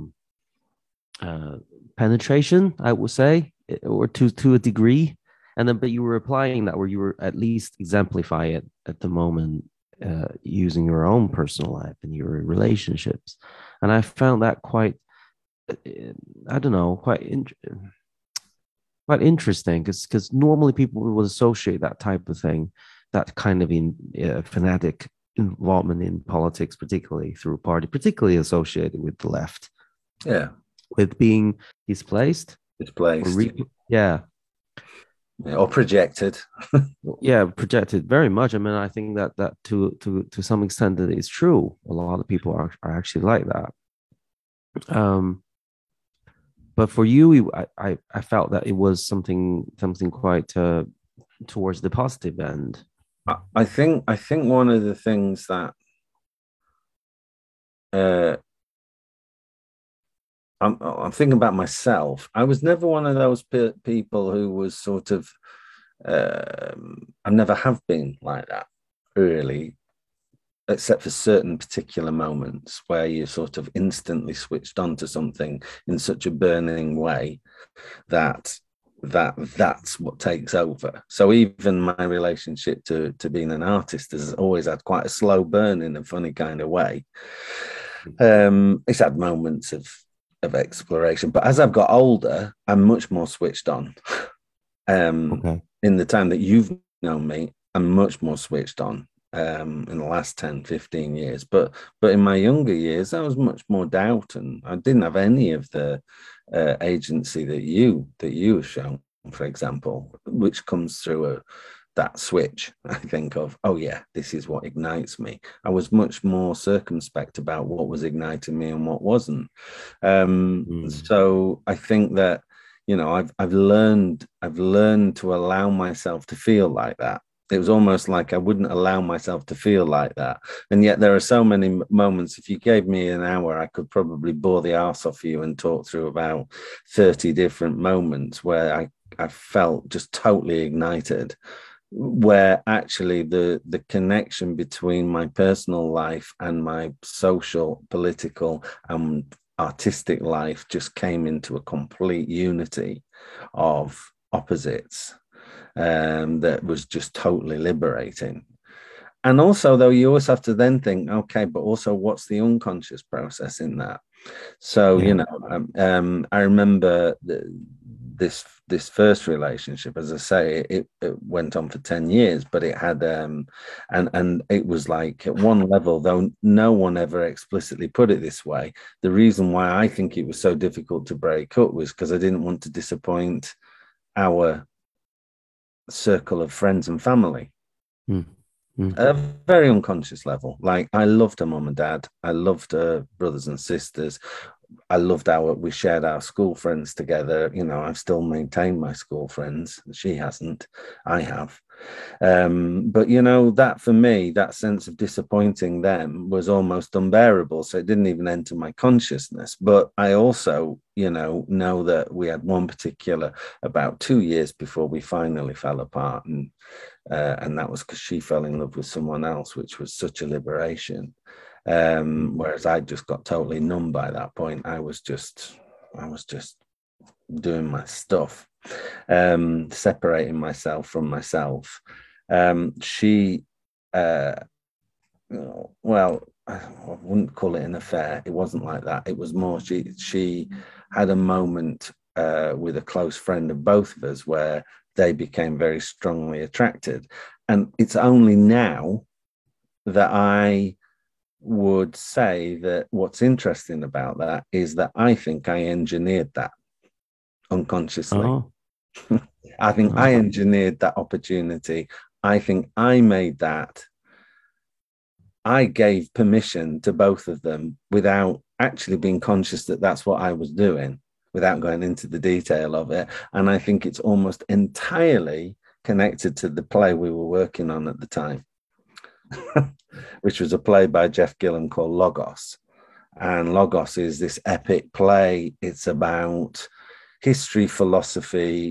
penetration, I would say, or to a degree, and then but you were applying that where you were at least exemplify it at the moment, using your own personal life and your relationships, and I found that quite, I don't know, quite interesting, because normally people would associate that type of thing, that kind of fanatic involvement in politics, particularly through party, particularly associated with the left. Yeah. With being displaced. Yeah, or projected. Yeah, projected very much. I mean, I think that to some extent that is true. A lot of people are actually like that. But for you, I felt that it was something quite towards the positive end. I think one of the things that I'm thinking about myself. I was never one of those people who was sort of, I never have been like that, really, except for certain particular moments where you sort of instantly switched on to something in such a burning way that's what takes over. So even my relationship to being an artist has always had quite a slow burn in a funny kind of way. It's had moments of exploration, but as I've got older, I'm much more switched on. Okay. In the time that you've known me, I'm much more switched on in the last 10, 15 years. But in my younger years, I was much more doubt, and I didn't have any of the agency that you have shown, for example, which comes through that switch, I think, of, oh yeah, this is what ignites me. I was much more circumspect about what was igniting me and what wasn't. So I think that, I've learned to allow myself to feel like that. It was almost like I wouldn't allow myself to feel like that. And yet there are so many moments, if you gave me an hour, I could probably bore the arse off you and talk through about 30 different moments where I felt just totally ignited, where actually the connection between my personal life and my social, political, and artistic life just came into a complete unity of opposites. That was just totally liberating. And also, though, you always have to then think, okay, but also what's the unconscious process in that? So, Yeah. I remember this first relationship, as I say, it went on for 10 years, but it had and it was like at one level, though no one ever explicitly put it this way, the reason why I think it was so difficult to break up was because I didn't want to disappoint our circle of friends and family. Mm. Mm. At a very unconscious level. Like I loved her mum and dad. I loved her brothers and sisters. I loved we shared our school friends together. I've still maintained my school friends. She hasn't. I have. But that for me, that sense of disappointing them was almost unbearable. So it didn't even enter my consciousness. But I also, know that we had one particular about 2 years before we finally fell apart. And that was because she fell in love with someone else, which was such a liberation. Whereas I just got totally numb by that point. I was just doing my stuff, separating myself from myself. She, well, I wouldn't call it an affair. It wasn't like that. It was more she had a moment with a close friend of both of us where they became very strongly attracted. And it's only now that I would say that what's interesting about that is that I think I engineered that unconsciously. Oh. I think I engineered that opportunity. I think I made that. I gave permission to both of them without actually being conscious that that's what I was doing, without going into the detail of it. And I think it's almost entirely connected to the play we were working on at the time, which was a play by Jeff Gillam called Logos. And Logos is this epic play. It's about history, philosophy,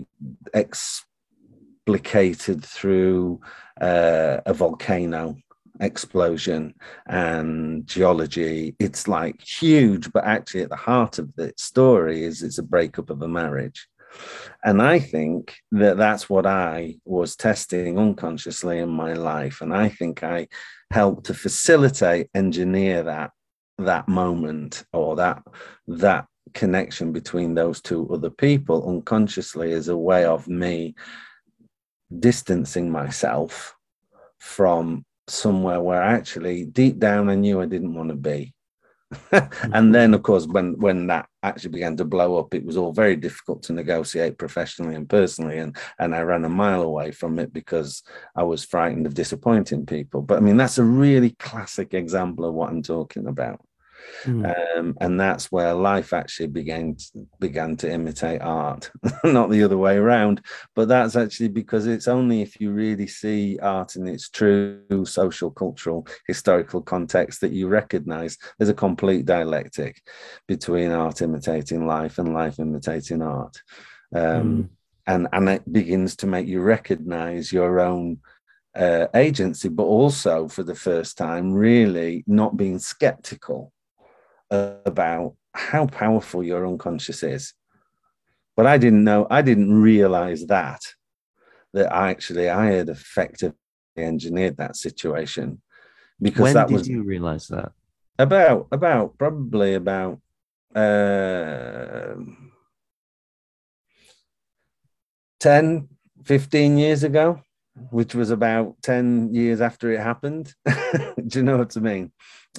explicated through a volcano explosion and geology. It's like huge, but actually at the heart of the story is it's a breakup of a marriage. And I think that that's what I was testing unconsciously in my life. And I think I helped to facilitate, engineer that moment, or that connection between those two other people unconsciously, as a way of me distancing myself from somewhere where actually deep down I knew I didn't want to be. And then, of course, when that actually began to blow up, it was all very difficult to negotiate professionally and personally, and I ran a mile away from it because I was frightened of disappointing people. But I mean, that's a really classic example of what I'm talking about. And that's where life actually began to imitate art, not the other way around. But that's actually because it's only if you really see art in its true social, cultural, historical context that you recognize there's a complete dialectic between art imitating life and life imitating art. And it begins to make you recognize your own agency, but also for the first time, really not being skeptical about how powerful your unconscious is. But I didn't realize that I had effectively engineered that situation, because when did you realize that? Probably about 10, 15 years ago, which was about 10 years after it happened. Do you know what I mean?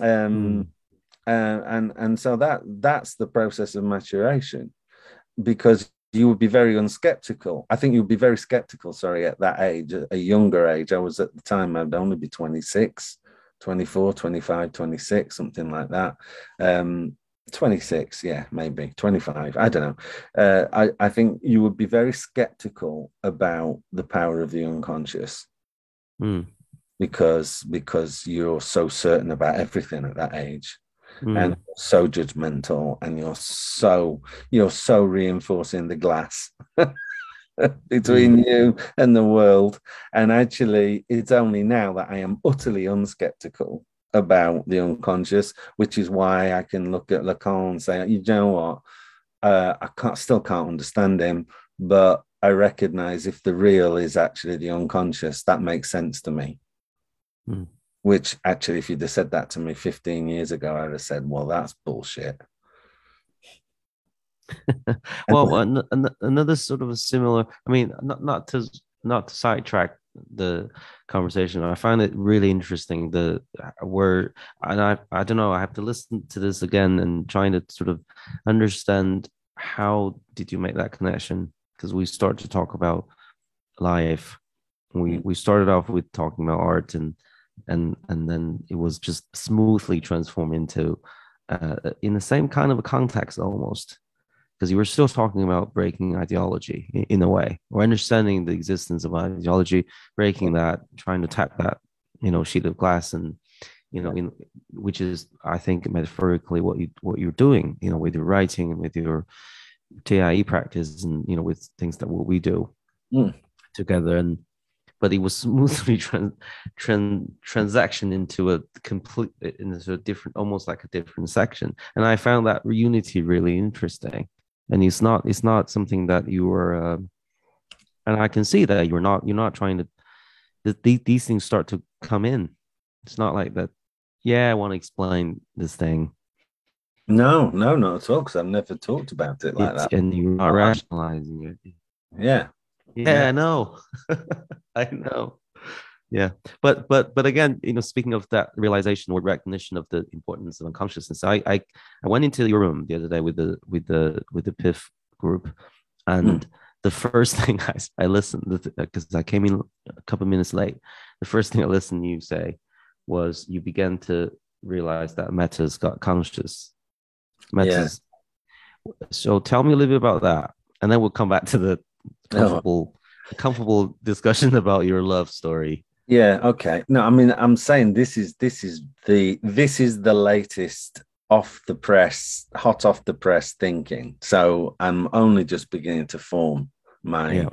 And so that's the process of maturation, because you would be very unskeptical. I think you'd be very skeptical, at that age, a younger age. I was at the time, I'd only be 26, 24, 25, 26, something like that. 26, yeah, maybe 25. I don't know. I think you would be very skeptical about the power of the unconscious. Because you're so certain about everything at that age. And so judgmental, and you're so reinforcing the glass between you and the world. And actually, it's only now that I am utterly unskeptical about the unconscious, which is why I can look at Lacan and say, you know what, I still can't understand him, but I recognize if the real is actually the unconscious, that makes sense to me. Which actually, if you'd have said that to me 15 years ago, I'd have said, well, that's bullshit. Well, another sort of a similar. I mean, not to sidetrack the conversation. I find it really interesting the where, and I don't know. I have to listen to this again and trying to sort of understand how did you make that connection, because we start to talk about life. We started off with talking about art, and then it was just smoothly transformed into in the same kind of a context almost, because you were still talking about breaking ideology in a way, or understanding the existence of ideology, breaking that, trying to tap that, sheet of glass, and which is, I think, metaphorically what you're doing, with your writing and with your TIE practice, and with things that what we do together. And but it was smoothly transaction into a different, almost like a different section. And I found that unity really interesting. And it's not something that you were, and I can see that you're not trying to. These things start to come in. It's not like that. Yeah, I want to explain this thing. No, no, not at all. Because I've never talked about it like that. And you're not rationalizing it. Yeah. Yeah, I know. I know. Yeah, but again, speaking of that realization or recognition of the importance of unconsciousness, I went into your room the other day with the PIF group, and the first thing I listened, because I came in a couple of minutes late. The first thing I listened to you say was you began to realize that meta's got conscious. Meta's. Yeah. So tell me a little bit about that, and then we'll come back to the comfortable discussion about your love story. Yeah, okay. No, I mean, I'm saying this is the latest hot off the press thinking. So I'm only just beginning to form my.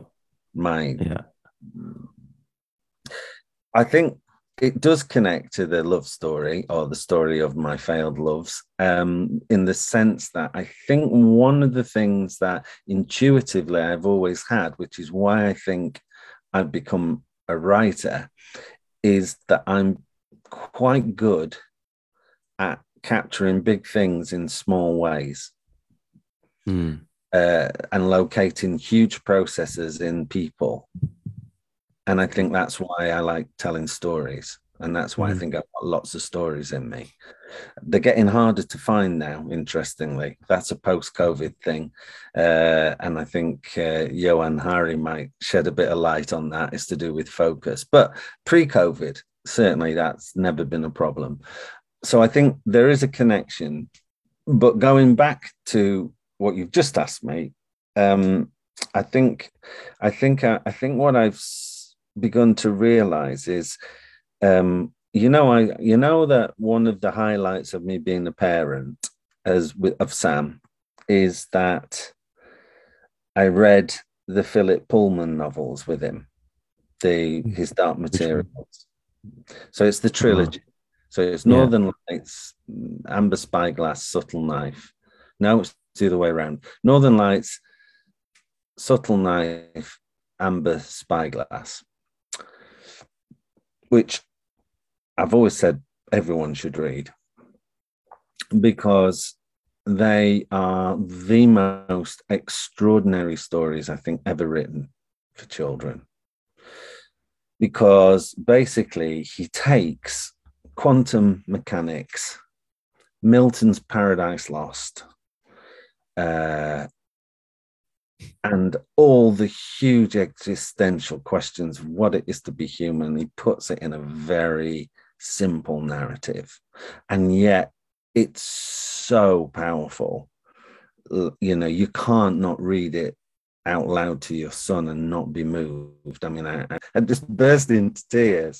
I think it does connect to the love story, or the story of my failed loves, in the sense that I think one of the things that intuitively I've always had, which is why I think I've become a writer, is that I'm quite good at capturing big things in small ways, and locating huge processes in people. And I think that's why I like telling stories. And that's why I think I've got lots of stories in me. They're getting harder to find now, interestingly. That's a post-COVID thing. And I think Johan Hari might shed a bit of light on that. It's to do with focus. But pre-COVID, certainly that's never been a problem. So I think there is a connection. But going back to what you've just asked me, I think what I've begun to realize is, that one of the highlights of me being a parent of Sam is that I read the Philip Pullman novels with him, his Dark Materials. So it's the trilogy. So it's Northern Lights, Amber Spyglass, Subtle Knife. No, it's the other way around. Northern Lights, Subtle Knife, Amber Spyglass, which I've always said everyone should read, because they are the most extraordinary stories I think ever written for children. Because basically he takes quantum mechanics, Milton's Paradise Lost, and all the huge existential questions of what it is to be human. He puts it in a very simple narrative, and yet it's so powerful. You can't not read it out loud to your son and not be moved. I mean, I just burst into tears.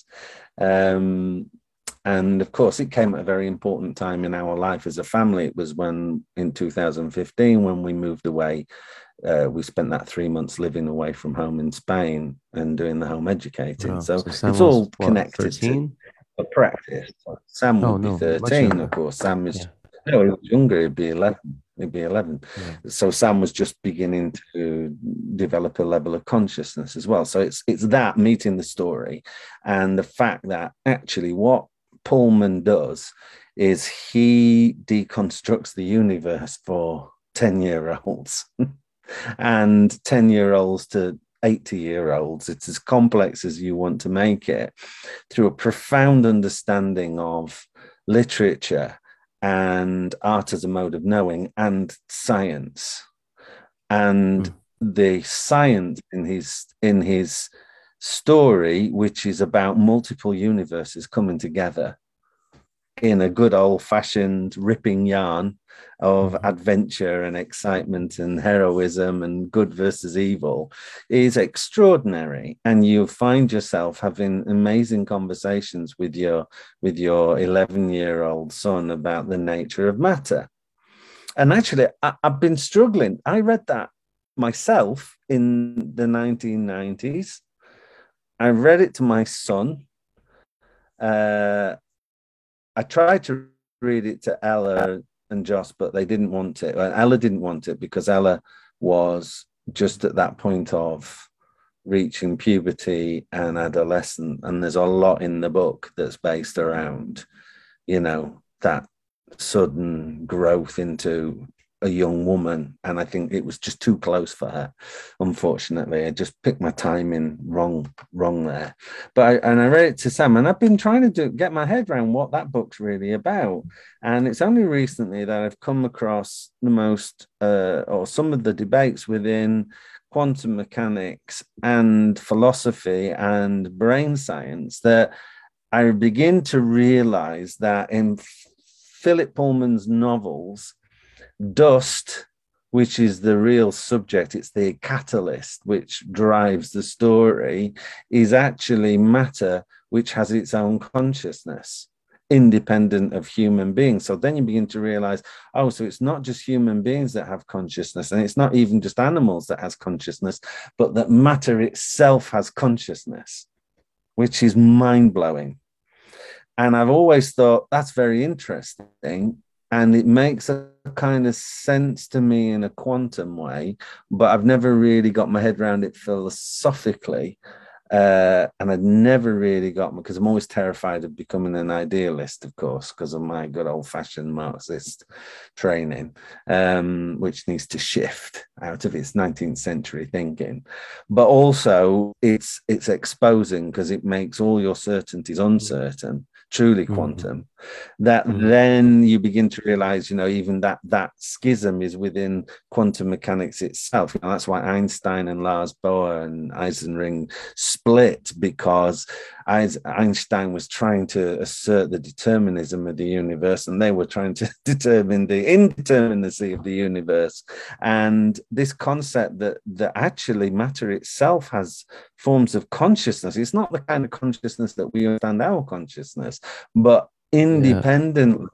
And of course, it came at a very important time in our life as a family. It was in 2015, when we moved away. We spent that 3 months living away from home in Spain and doing the home educating. Wow. So it's all connected 13? To a practice. Sam would be 13, of course. Sam is he was younger. He'd be 11. Yeah. So Sam was just beginning to develop a level of consciousness as well. So it's that meeting the story, and the fact that actually what Pullman does is he deconstructs the universe for 10-year-olds and 10-year-olds to 80-year-olds. It's as complex as you want to make it, through a profound understanding of literature and art as a mode of knowing and science. And the science in his story, which is about multiple universes coming together in a good old-fashioned ripping yarn of adventure and excitement and heroism and good versus evil, is extraordinary. And you find yourself having amazing conversations with your 11-year-old son about the nature of matter. And actually, I've been struggling. I read that myself in the 1990s. I read it to my son. I tried to read it to Ella and Joss, but they didn't want it. Well, Ella didn't want it because Ella was just at that point of reaching puberty and adolescence. And there's a lot in the book that's based around, that sudden growth into a young woman. And I think it was just too close for her. Unfortunately, I just picked my timing wrong there. But I read it to Sam, and I've been trying to get my head around what that book's really about. And it's only recently that I've come across the most or some of the debates within quantum mechanics and philosophy and brain science that I begin to realize that in Philip Pullman's novels, dust, which is the real subject, it's the catalyst which drives the story, is actually matter which has its own consciousness, independent of human beings. So then you begin to realize, so it's not just human beings that have consciousness, and it's not even just animals that has consciousness, but that matter itself has consciousness, which is mind-blowing. And I've always thought that's very interesting. And it makes a kind of sense to me in a quantum way, but I've never really got my head around it philosophically. And I'd never really got, because I'm always terrified of becoming an idealist, of course, because of my good old-fashioned Marxist training, which needs to shift out of its 19th century thinking. But also it's exposing, because it makes all your certainties uncertain, truly quantum, that then you begin to realize, even that schism is within quantum mechanics itself. That's why Einstein and Lars Bohr and Eisenring split, because Einstein was trying to assert the determinism of the universe, and they were trying to determine the indeterminacy of the universe. And this concept that actually matter itself has forms of consciousness. It's not the kind of consciousness that we understand our consciousness, but independent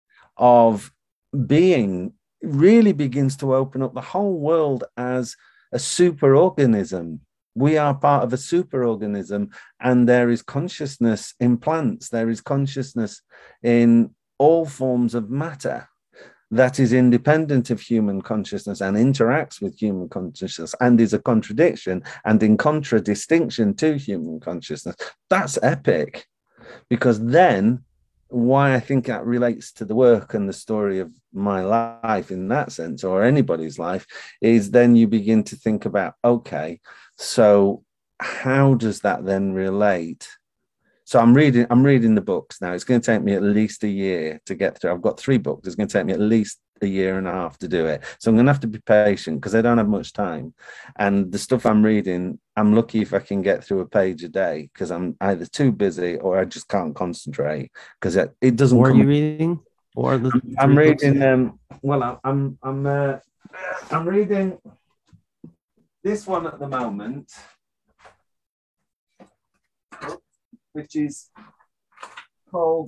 of being, really begins to open up the whole world as a superorganism. We are part of a superorganism, and there is consciousness in plants. There is consciousness in all forms of matter that is independent of human consciousness and interacts with human consciousness and is a contradiction and in contradistinction to human consciousness. That's epic, because then why I think that relates to the work and the story of my life in that sense, or anybody's life, is then you begin to think about, okay, so how does that then relate? So I'm reading the books now. It's going to take me at least a year to get through. I've got 3 books. It's going to take me at least a year and a half to do it. So I'm going to have to be patient, because I don't have much time. And the stuff I'm reading, I'm lucky if I can get through a page a day, because I'm either too busy or I just can't concentrate, because it doesn't. What are you reading? Or I'm reading. I'm reading this one at the moment, which is called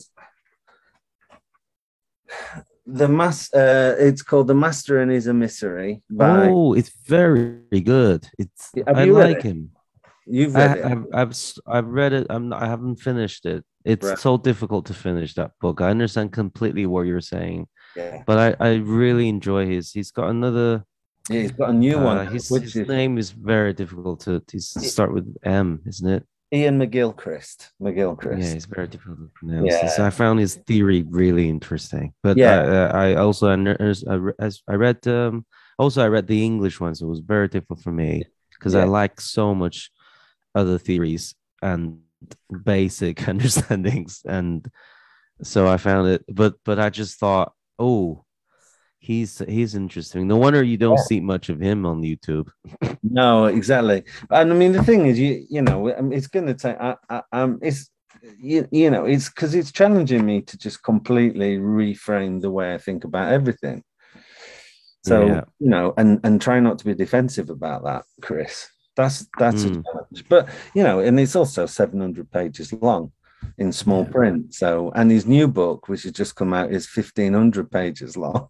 it's called The Master and His Emissary. It's very good. I like him. You've read it. I've read it. I haven't finished it. It's so difficult to finish that book. I understand completely what you're saying. Yeah. But I really enjoy he's got another. Yeah, he's got a new one. His name is very difficult to start with M, isn't it? Ian McGilchrist. Yeah, McGilchrist. it's very difficult to pronounce. Yeah. I found his theory really interesting, but Yeah. I also I read also I read the English one, so it was very difficult for me because I Yeah. like so much other theories and basic understandings, and so I found it. But I just thought, oh, he's interesting. No wonder you don't see much of him on YouTube. No, exactly. And I mean, the thing is, you know, it's going to take, it's, you know, it's because it's challenging me to just completely reframe the way I think about everything. So, Yeah. you know, and try not to be defensive about that, Chris. That's a Mm. challenge. But, you know, and it's also 700 pages long in small Yeah. print. So, and his new book, which has just come out, is 1,500 pages long.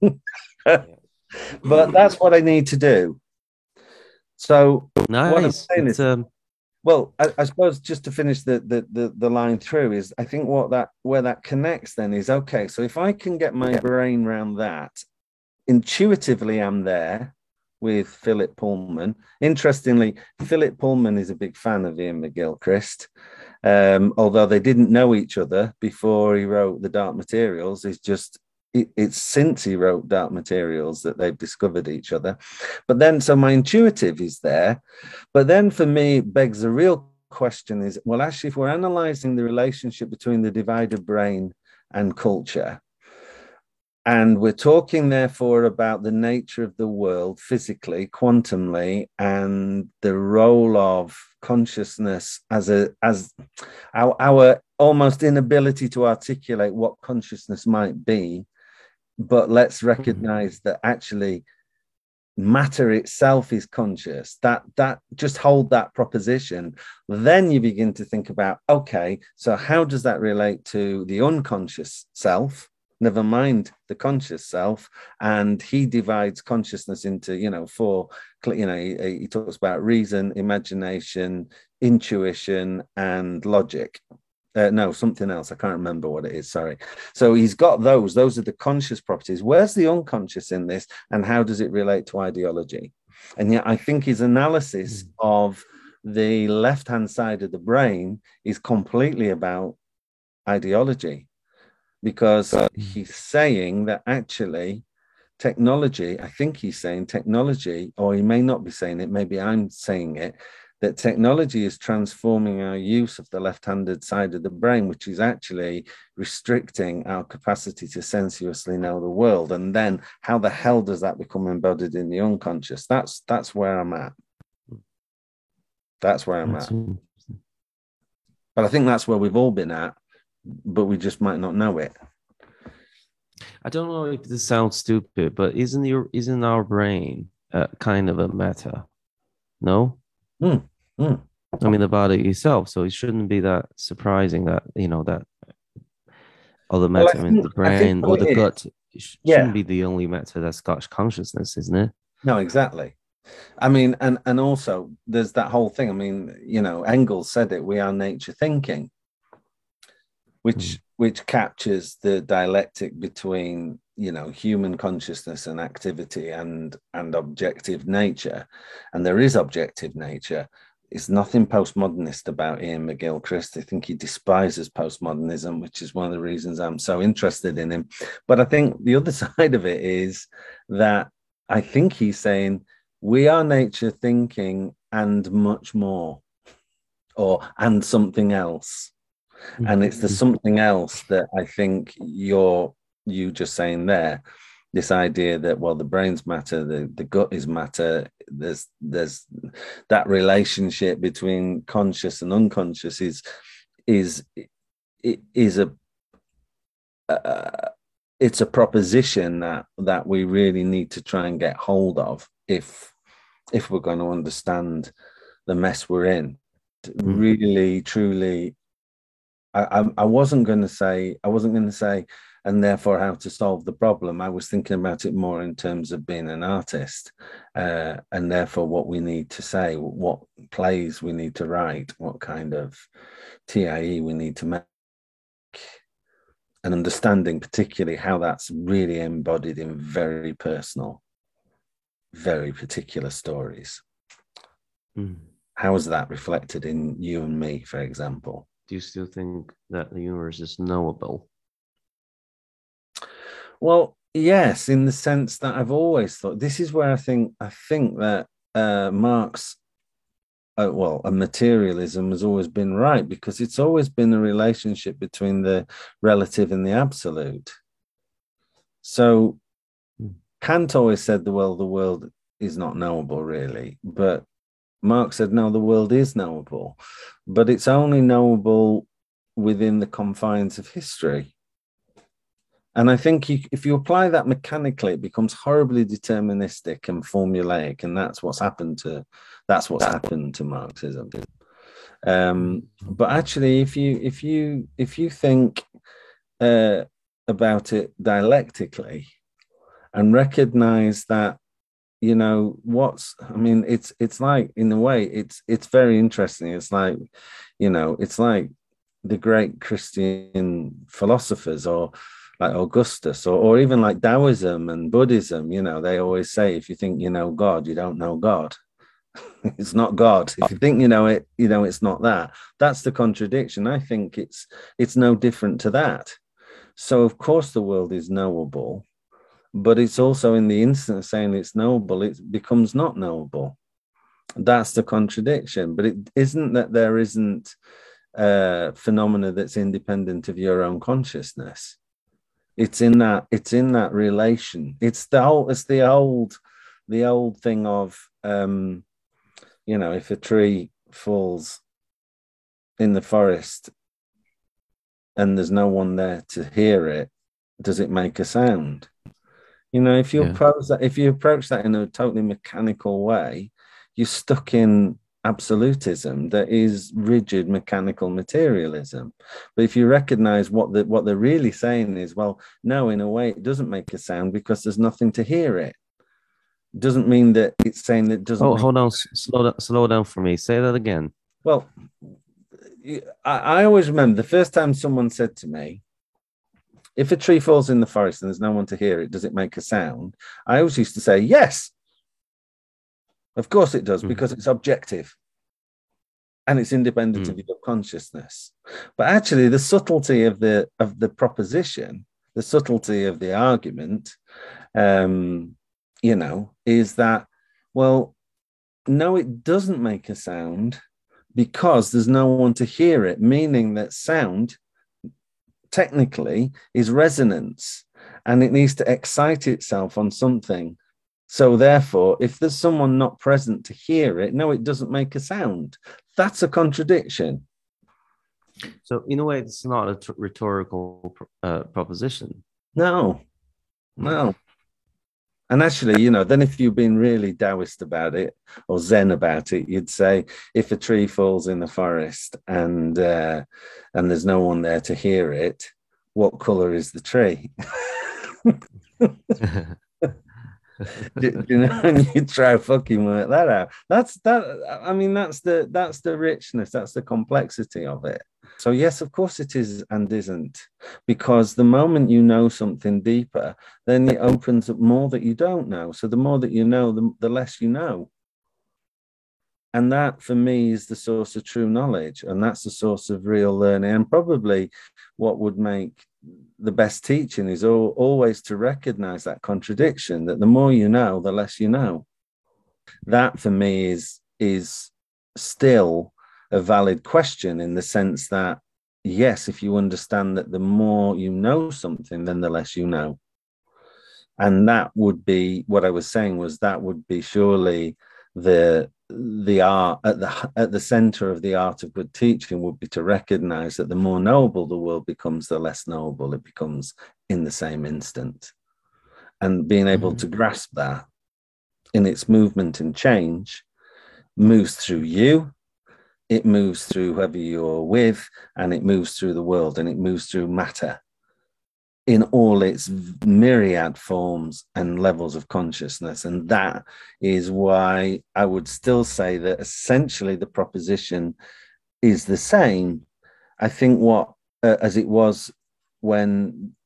But that's what I need to do. So what I'm Nice. saying It's is, well, I suppose just to finish the line through is, I think what that where that connects then is, okay, so if I can get my brain around that, intuitively I'm there with Philip Pullman. Interestingly, Philip Pullman is a big fan of Ian McGilchrist. Although they didn't know each other before he wrote The Dark Materials. It's since he wrote Dark Materials that they've discovered each other. But then, so my intuitive is there. But then for me, begs the real question is, well, actually, if we're analyzing the relationship between the divided brain and culture, and we're talking, therefore, about the nature of the world physically, quantumly, and the role of consciousness as our almost inability to articulate what consciousness might be. But let's recognize that actually matter itself is conscious. That just hold that proposition. Then you begin to think about, okay, so how does that relate to the unconscious self? Never mind the conscious self. And he divides consciousness into, you know, four, you know, he talks about reason, imagination, intuition, and logic. No, something else. I can't remember what it is. Sorry. So he's got those. Those are the conscious properties. Where's the unconscious in this, and how does it relate to ideology? And yet, I think his analysis of the left-hand side of the brain is completely about ideology, because he's saying that actually technology, I think he's saying technology, or he may not be saying it, maybe I'm saying it, that technology is transforming our use of the left-handed side of the brain, which is actually restricting our capacity to sensuously know the world. And then how the hell does that become embodied in the unconscious? That's where I'm at. That's where I'm at. But I think that's where we've all been at, but we just might not know it. I don't know if this sounds stupid, but isn't our brain kind of a meta? No? I mean, the body itself. So it shouldn't be that surprising that, you know, that other meta, I mean, the brain or the gut shouldn't be the only meta that's got consciousness, isn't it? No, exactly. I mean, and also there's that whole thing. I mean, you know, Engels said it, we are nature thinking, which captures the dialectic between, you know, human consciousness and activity and objective nature. And there is objective nature. It's nothing postmodernist about Ian McGilchrist. I think he despises postmodernism, which is one of the reasons I'm so interested in him. But I think the other side of it is that I think he's saying we are nature thinking and much more, and something else. And it's the something else that I think you just saying there, this idea that, well, the brain's matter, the gut is matter. There's that relationship between conscious and unconscious is it's a proposition that we really need to try and get hold of if we're going to understand the mess we're in. Really, truly, I wasn't going to say, and therefore how to solve the problem. I was thinking about it more in terms of being an artist, and therefore what we need to say, what plays we need to write, what kind of TIE we need to make, and understanding particularly how that's really embodied in very personal, very particular stories. how is that reflected in you and me, for example? Do you still think that the universe is knowable? Well, yes, in the sense that I've always thought this is where I think that Marx, and materialism has always been right, because it's always been a relationship between the relative and the absolute. So Kant always said the world is not knowable, really, but Marx said no, the world is knowable, but it's only knowable within the confines of history. And I think if you apply that mechanically, it becomes horribly deterministic and formulaic, and that's what's happened to Marxism. But actually, if you think about it dialectically and recognize that, it's like, in a way, it's very interesting. It's like, it's like the great Christian philosophers, or like Augustus, or even like Taoism and Buddhism. They always say, if you think you know God, you don't know God. It's not God. If you think you know it, it's not that. That's the contradiction. I think it's no different to that. So of course the world is knowable, but it's also, in the instant of saying it's knowable, it becomes not knowable. That's the contradiction. But it isn't that there isn't a phenomena that's independent of your own consciousness. It's in that relation. It's the old thing of, if a tree falls in the forest and there's no one there to hear it, does it make a sound? If you approach that in a totally mechanical way, you're stuck in absolutism that is rigid mechanical materialism. But if you recognize what they're really saying is, well, no, in a way it doesn't make a sound because there's nothing to hear it. Doesn't mean that it's saying that it doesn't. Oh, hold on, slow down for me. Say that again. Well, I always remember the first time someone said to me, if a tree falls in the forest and there's no one to hear it, does it make a sound? I always used to say, yes, of course it does, because it's objective and it's independent of your consciousness. But actually, the subtlety of the proposition, the subtlety of the argument, is that, well, no, it doesn't make a sound because there's no one to hear it, meaning that sound technically is resonance, and it needs to excite itself on something. So therefore, if there's someone not present to hear it, no, it doesn't make a sound. That's a contradiction. So in a way, it's not a rhetorical proposition. No. And actually, then if you've been really Taoist about it or Zen about it, you'd say, if a tree falls in the forest and there's no one there to hear it, what color is the tree? And you try fucking work that out. That's the richness, that's the complexity of it. So yes, of course it is and isn't, because the moment you know something deeper, then it opens up more that you don't know. So the more that you know, the less you know. And that, for me, is the source of true knowledge. And that's the source of real learning. And probably what would make the best teaching is always to recognize that contradiction, that the more you know, the less you know. That, for me, is still a valid question, in the sense that, yes, if you understand that the more you know something, then the less you know. And that would be, what I was saying was, that would be surely the art at the center of the art of good teaching, would be to recognize that the more knowable the world becomes, the less knowable it becomes in the same instant. And being able to grasp that in its movement and change moves through you, it moves through whoever you're with, and it moves through the world, and it moves through matter in all its myriad forms and levels of consciousness. And that is why I would still say that essentially the proposition is the same. I think as it was when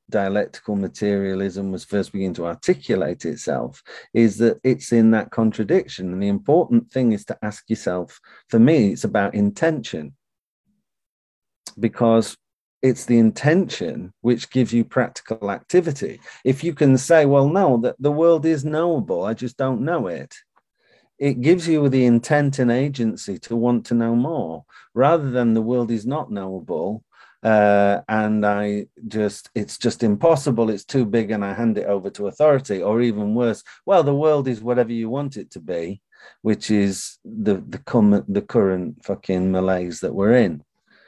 dialectical materialism was first beginning to articulate itself, is that it's in that contradiction. And the important thing is to ask yourself, for me, it's about intention, because it's the intention which gives you practical activity. If you can say, well, no, that the world is knowable, I just don't know it. It gives you the intent and agency to want to know more, rather than the world is not knowable. And it's just impossible. It's too big and I hand it over to authority, or even worse, well, the world is whatever you want it to be, which is the current fucking malaise that we're in.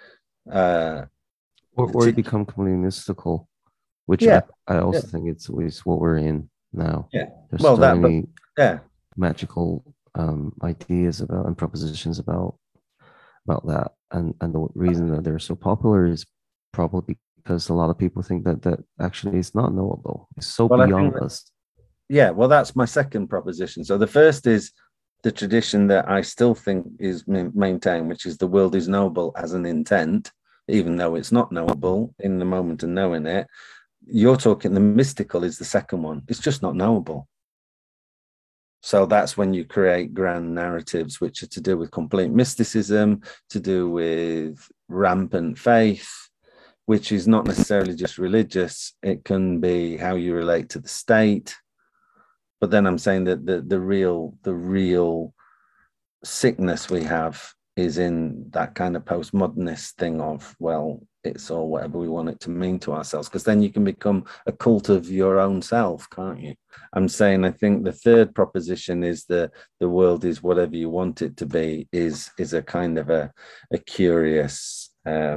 Or you become completely mystical, which I also think it's what we're in now. Yeah. There's so many magical ideas about and propositions about that, and the reason that they're so popular is probably because a lot of people think that actually it's not knowable. It's so beyond us. Yeah, well, that's my second proposition. So the first is the tradition that I still think is maintained, which is the world is knowable as an intent, even though it's not knowable in the moment of knowing it. You're talking the mystical is the second one. It's just not knowable. So that's when you create grand narratives, which are to do with complete mysticism, to do with rampant faith, which is not necessarily just religious. It can be how you relate to the state. But then I'm saying that the real sickness we have is in that kind of postmodernist thing of, well, it's all whatever we want it to mean to ourselves, because then you can become a cult of your own self, can't you? I'm saying I think the third proposition is the world is whatever you want it to be is a kind of a curious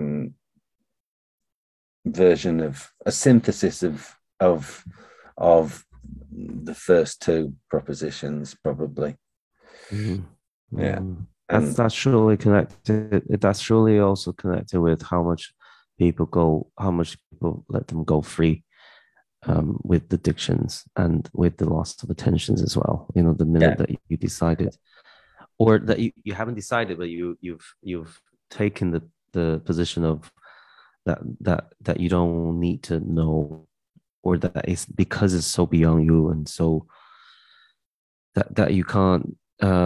version of a synthesis of the first two propositions, probably. Mm-hmm. Yeah. That's surely connected. That's surely also connected with how much people let them go free with addictions and with the loss of attentions as well. You know, the minute that you decided, or that you haven't decided, but you've taken the position of that you don't need to know, or that it's because it's so beyond you, and so that you can't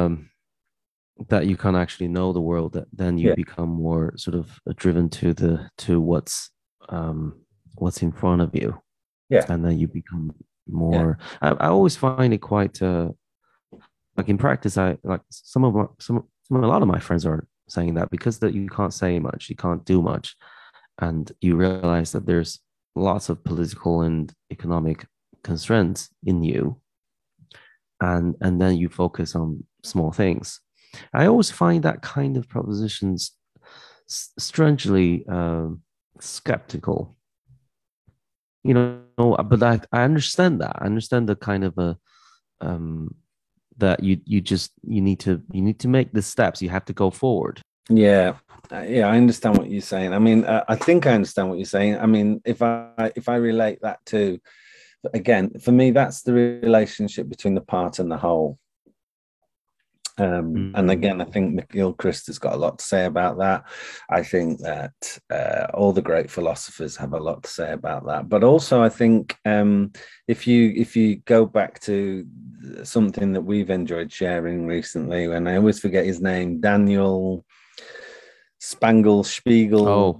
actually know the world, that then you become more sort of driven to what's in front of you, and then you become more. I always find it quite like in practice. I like a lot of my friends are saying that, because that you can't say much, you can't do much, and you realize that there's lots of political and economic constraints in you, and then you focus on small things. I always find that kind of propositions strangely skeptical, you know. But I understand that. I understand the kind of that you need to make the steps. You have to go forward. Yeah, I understand what you're saying. I mean, I think I understand what you're saying. I mean, if I relate that to, again, for me, that's the relationship between the part and the whole. And again, I think McGilchrist has got a lot to say about that. I think that all the great philosophers have a lot to say about that. But also, I think if you go back to something that we've enjoyed sharing recently, and I always forget his name, Daniel Spiegel. Oh.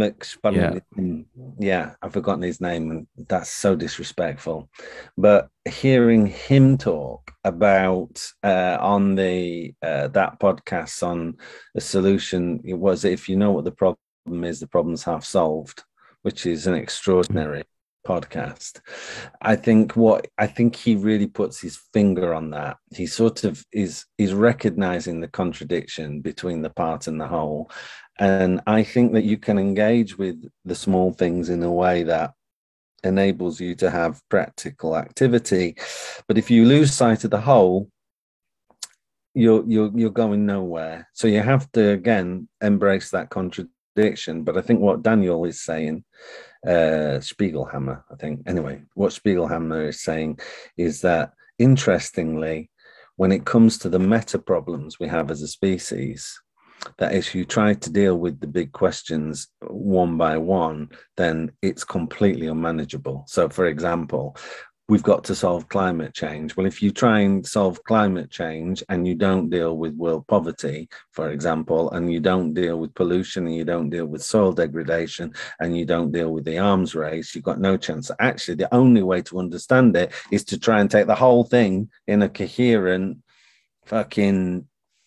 Yeah, I've forgotten his name, and that's so disrespectful. But hearing him talk about on the that podcast on the solution, it was, if you know what the problem is, the problem's half solved, which is an extraordinary podcast. I think he really puts his finger on that. He sort of is recognizing the contradiction between the part and the whole. And I think that you can engage with the small things in a way that enables you to have practical activity. But if you lose sight of the whole, you're going nowhere. So you have to, again, embrace that contradiction. But I think what Daniel is saying, Spiegelhammer, I think. Anyway, what Spiegelhammer is saying is that, interestingly, when it comes to the meta problems we have as a species, that if you try to deal with the big questions, one by one, then it's completely unmanageable. So, for example, we've got to solve climate change. Well, if you try and solve climate change and you don't deal with world poverty, for example, and you don't deal with pollution and you don't deal with soil degradation and you don't deal with the arms race, you've got no chance. Actually, the only way to understand it is to try and take the whole thing in a coherent fucking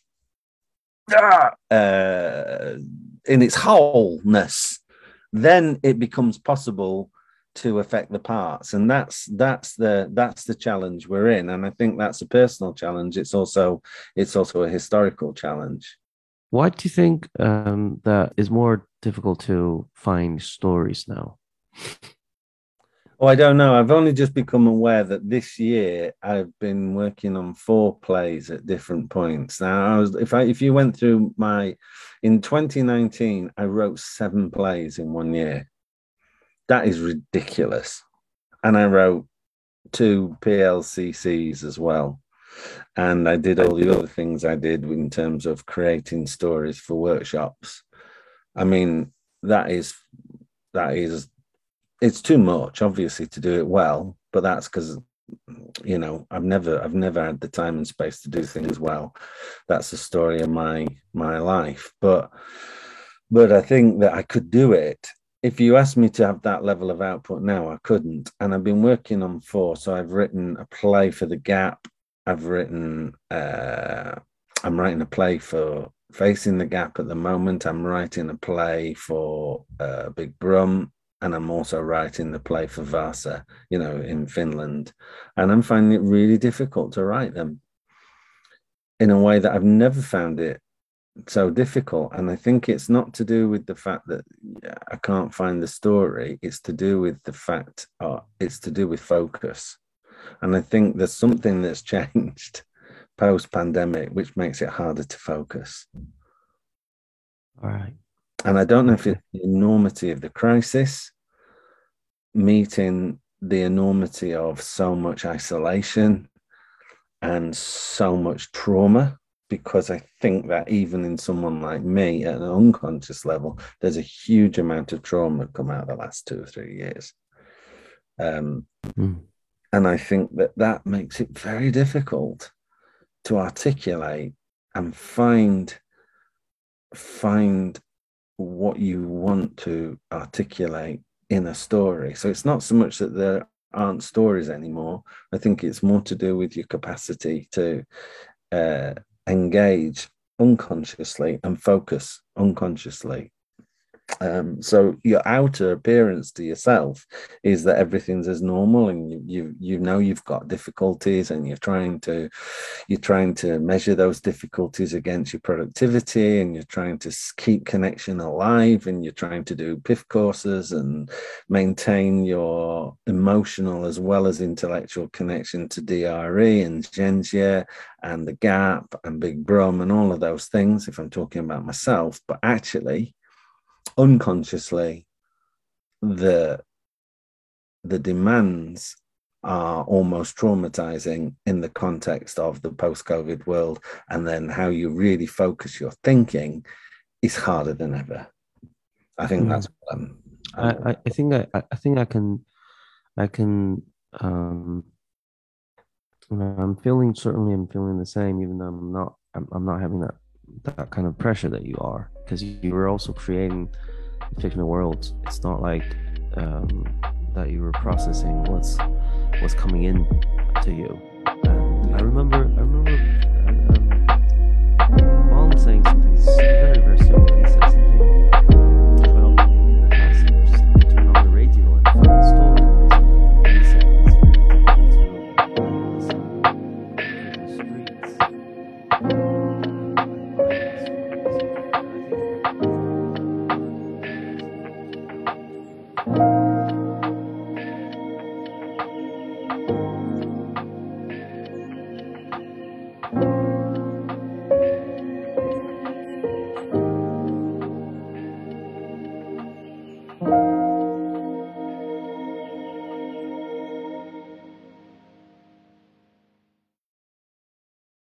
in its wholeness. Then it becomes possible to affect the parts, and that's the challenge we're in. And I think that's a personal challenge. It's also a historical challenge. Why do you think that is more difficult to find stories now? Oh, I don't know. I've only just become aware that this year I've been working on 4 plays at different points. Now, if you went through in 2019, I wrote 7 plays in 1 year. That is ridiculous. And I wrote 2 PLCCs as well. And I did all the other things I did in terms of creating stories for workshops. I mean, it's too much, obviously, to do it well, but that's because, you know, I've never had the time and space to do things well. That's the story of my life. But I think that I could do it. If you asked me to have that level of output now, I couldn't. And I've been working on 4. So I've written a play for The Gap. I'm writing a play for Facing the Gap at the moment. I'm writing a play for Big Brum. And I'm also writing the play for Vasa, you know, in Finland. And I'm finding it really difficult to write them in a way that I've never found it so difficult. And I think it's not to do with the fact that I can't find the story. It's to do with the fact, it's to do with focus. And I think there's something that's changed post-pandemic, which makes it harder to focus. All right. And I don't know if it's the enormity of the crisis meeting the enormity of so much isolation and so much trauma, because I think that even in someone like me at an unconscious level, there's a huge amount of trauma come out the last 2 or 3 years. And I think that makes it very difficult to articulate and find what you want to articulate in a story. So it's not so much that there aren't stories anymore. I think it's more to do with your capacity to engage unconsciously and focus unconsciously. So your outer appearance to yourself is that everything's as normal, and you know you've got difficulties, and you're trying to measure those difficulties against your productivity, and you're trying to keep connection alive, and you're trying to do PIF courses and maintain your emotional as well as intellectual connection to DRE and Zhenjie and The Gap and Big Brum and all of those things, if I'm talking about myself. But actually, unconsciously, the demands are almost traumatizing in the context of the post-COVID world, and then how you really focus your thinking is harder than ever. I think that's what I think I can I'm feeling the same, even though I'm not having that kind of pressure that you are, because you were also creating fictional worlds. It's not like that you were processing what's coming in to you. And I remember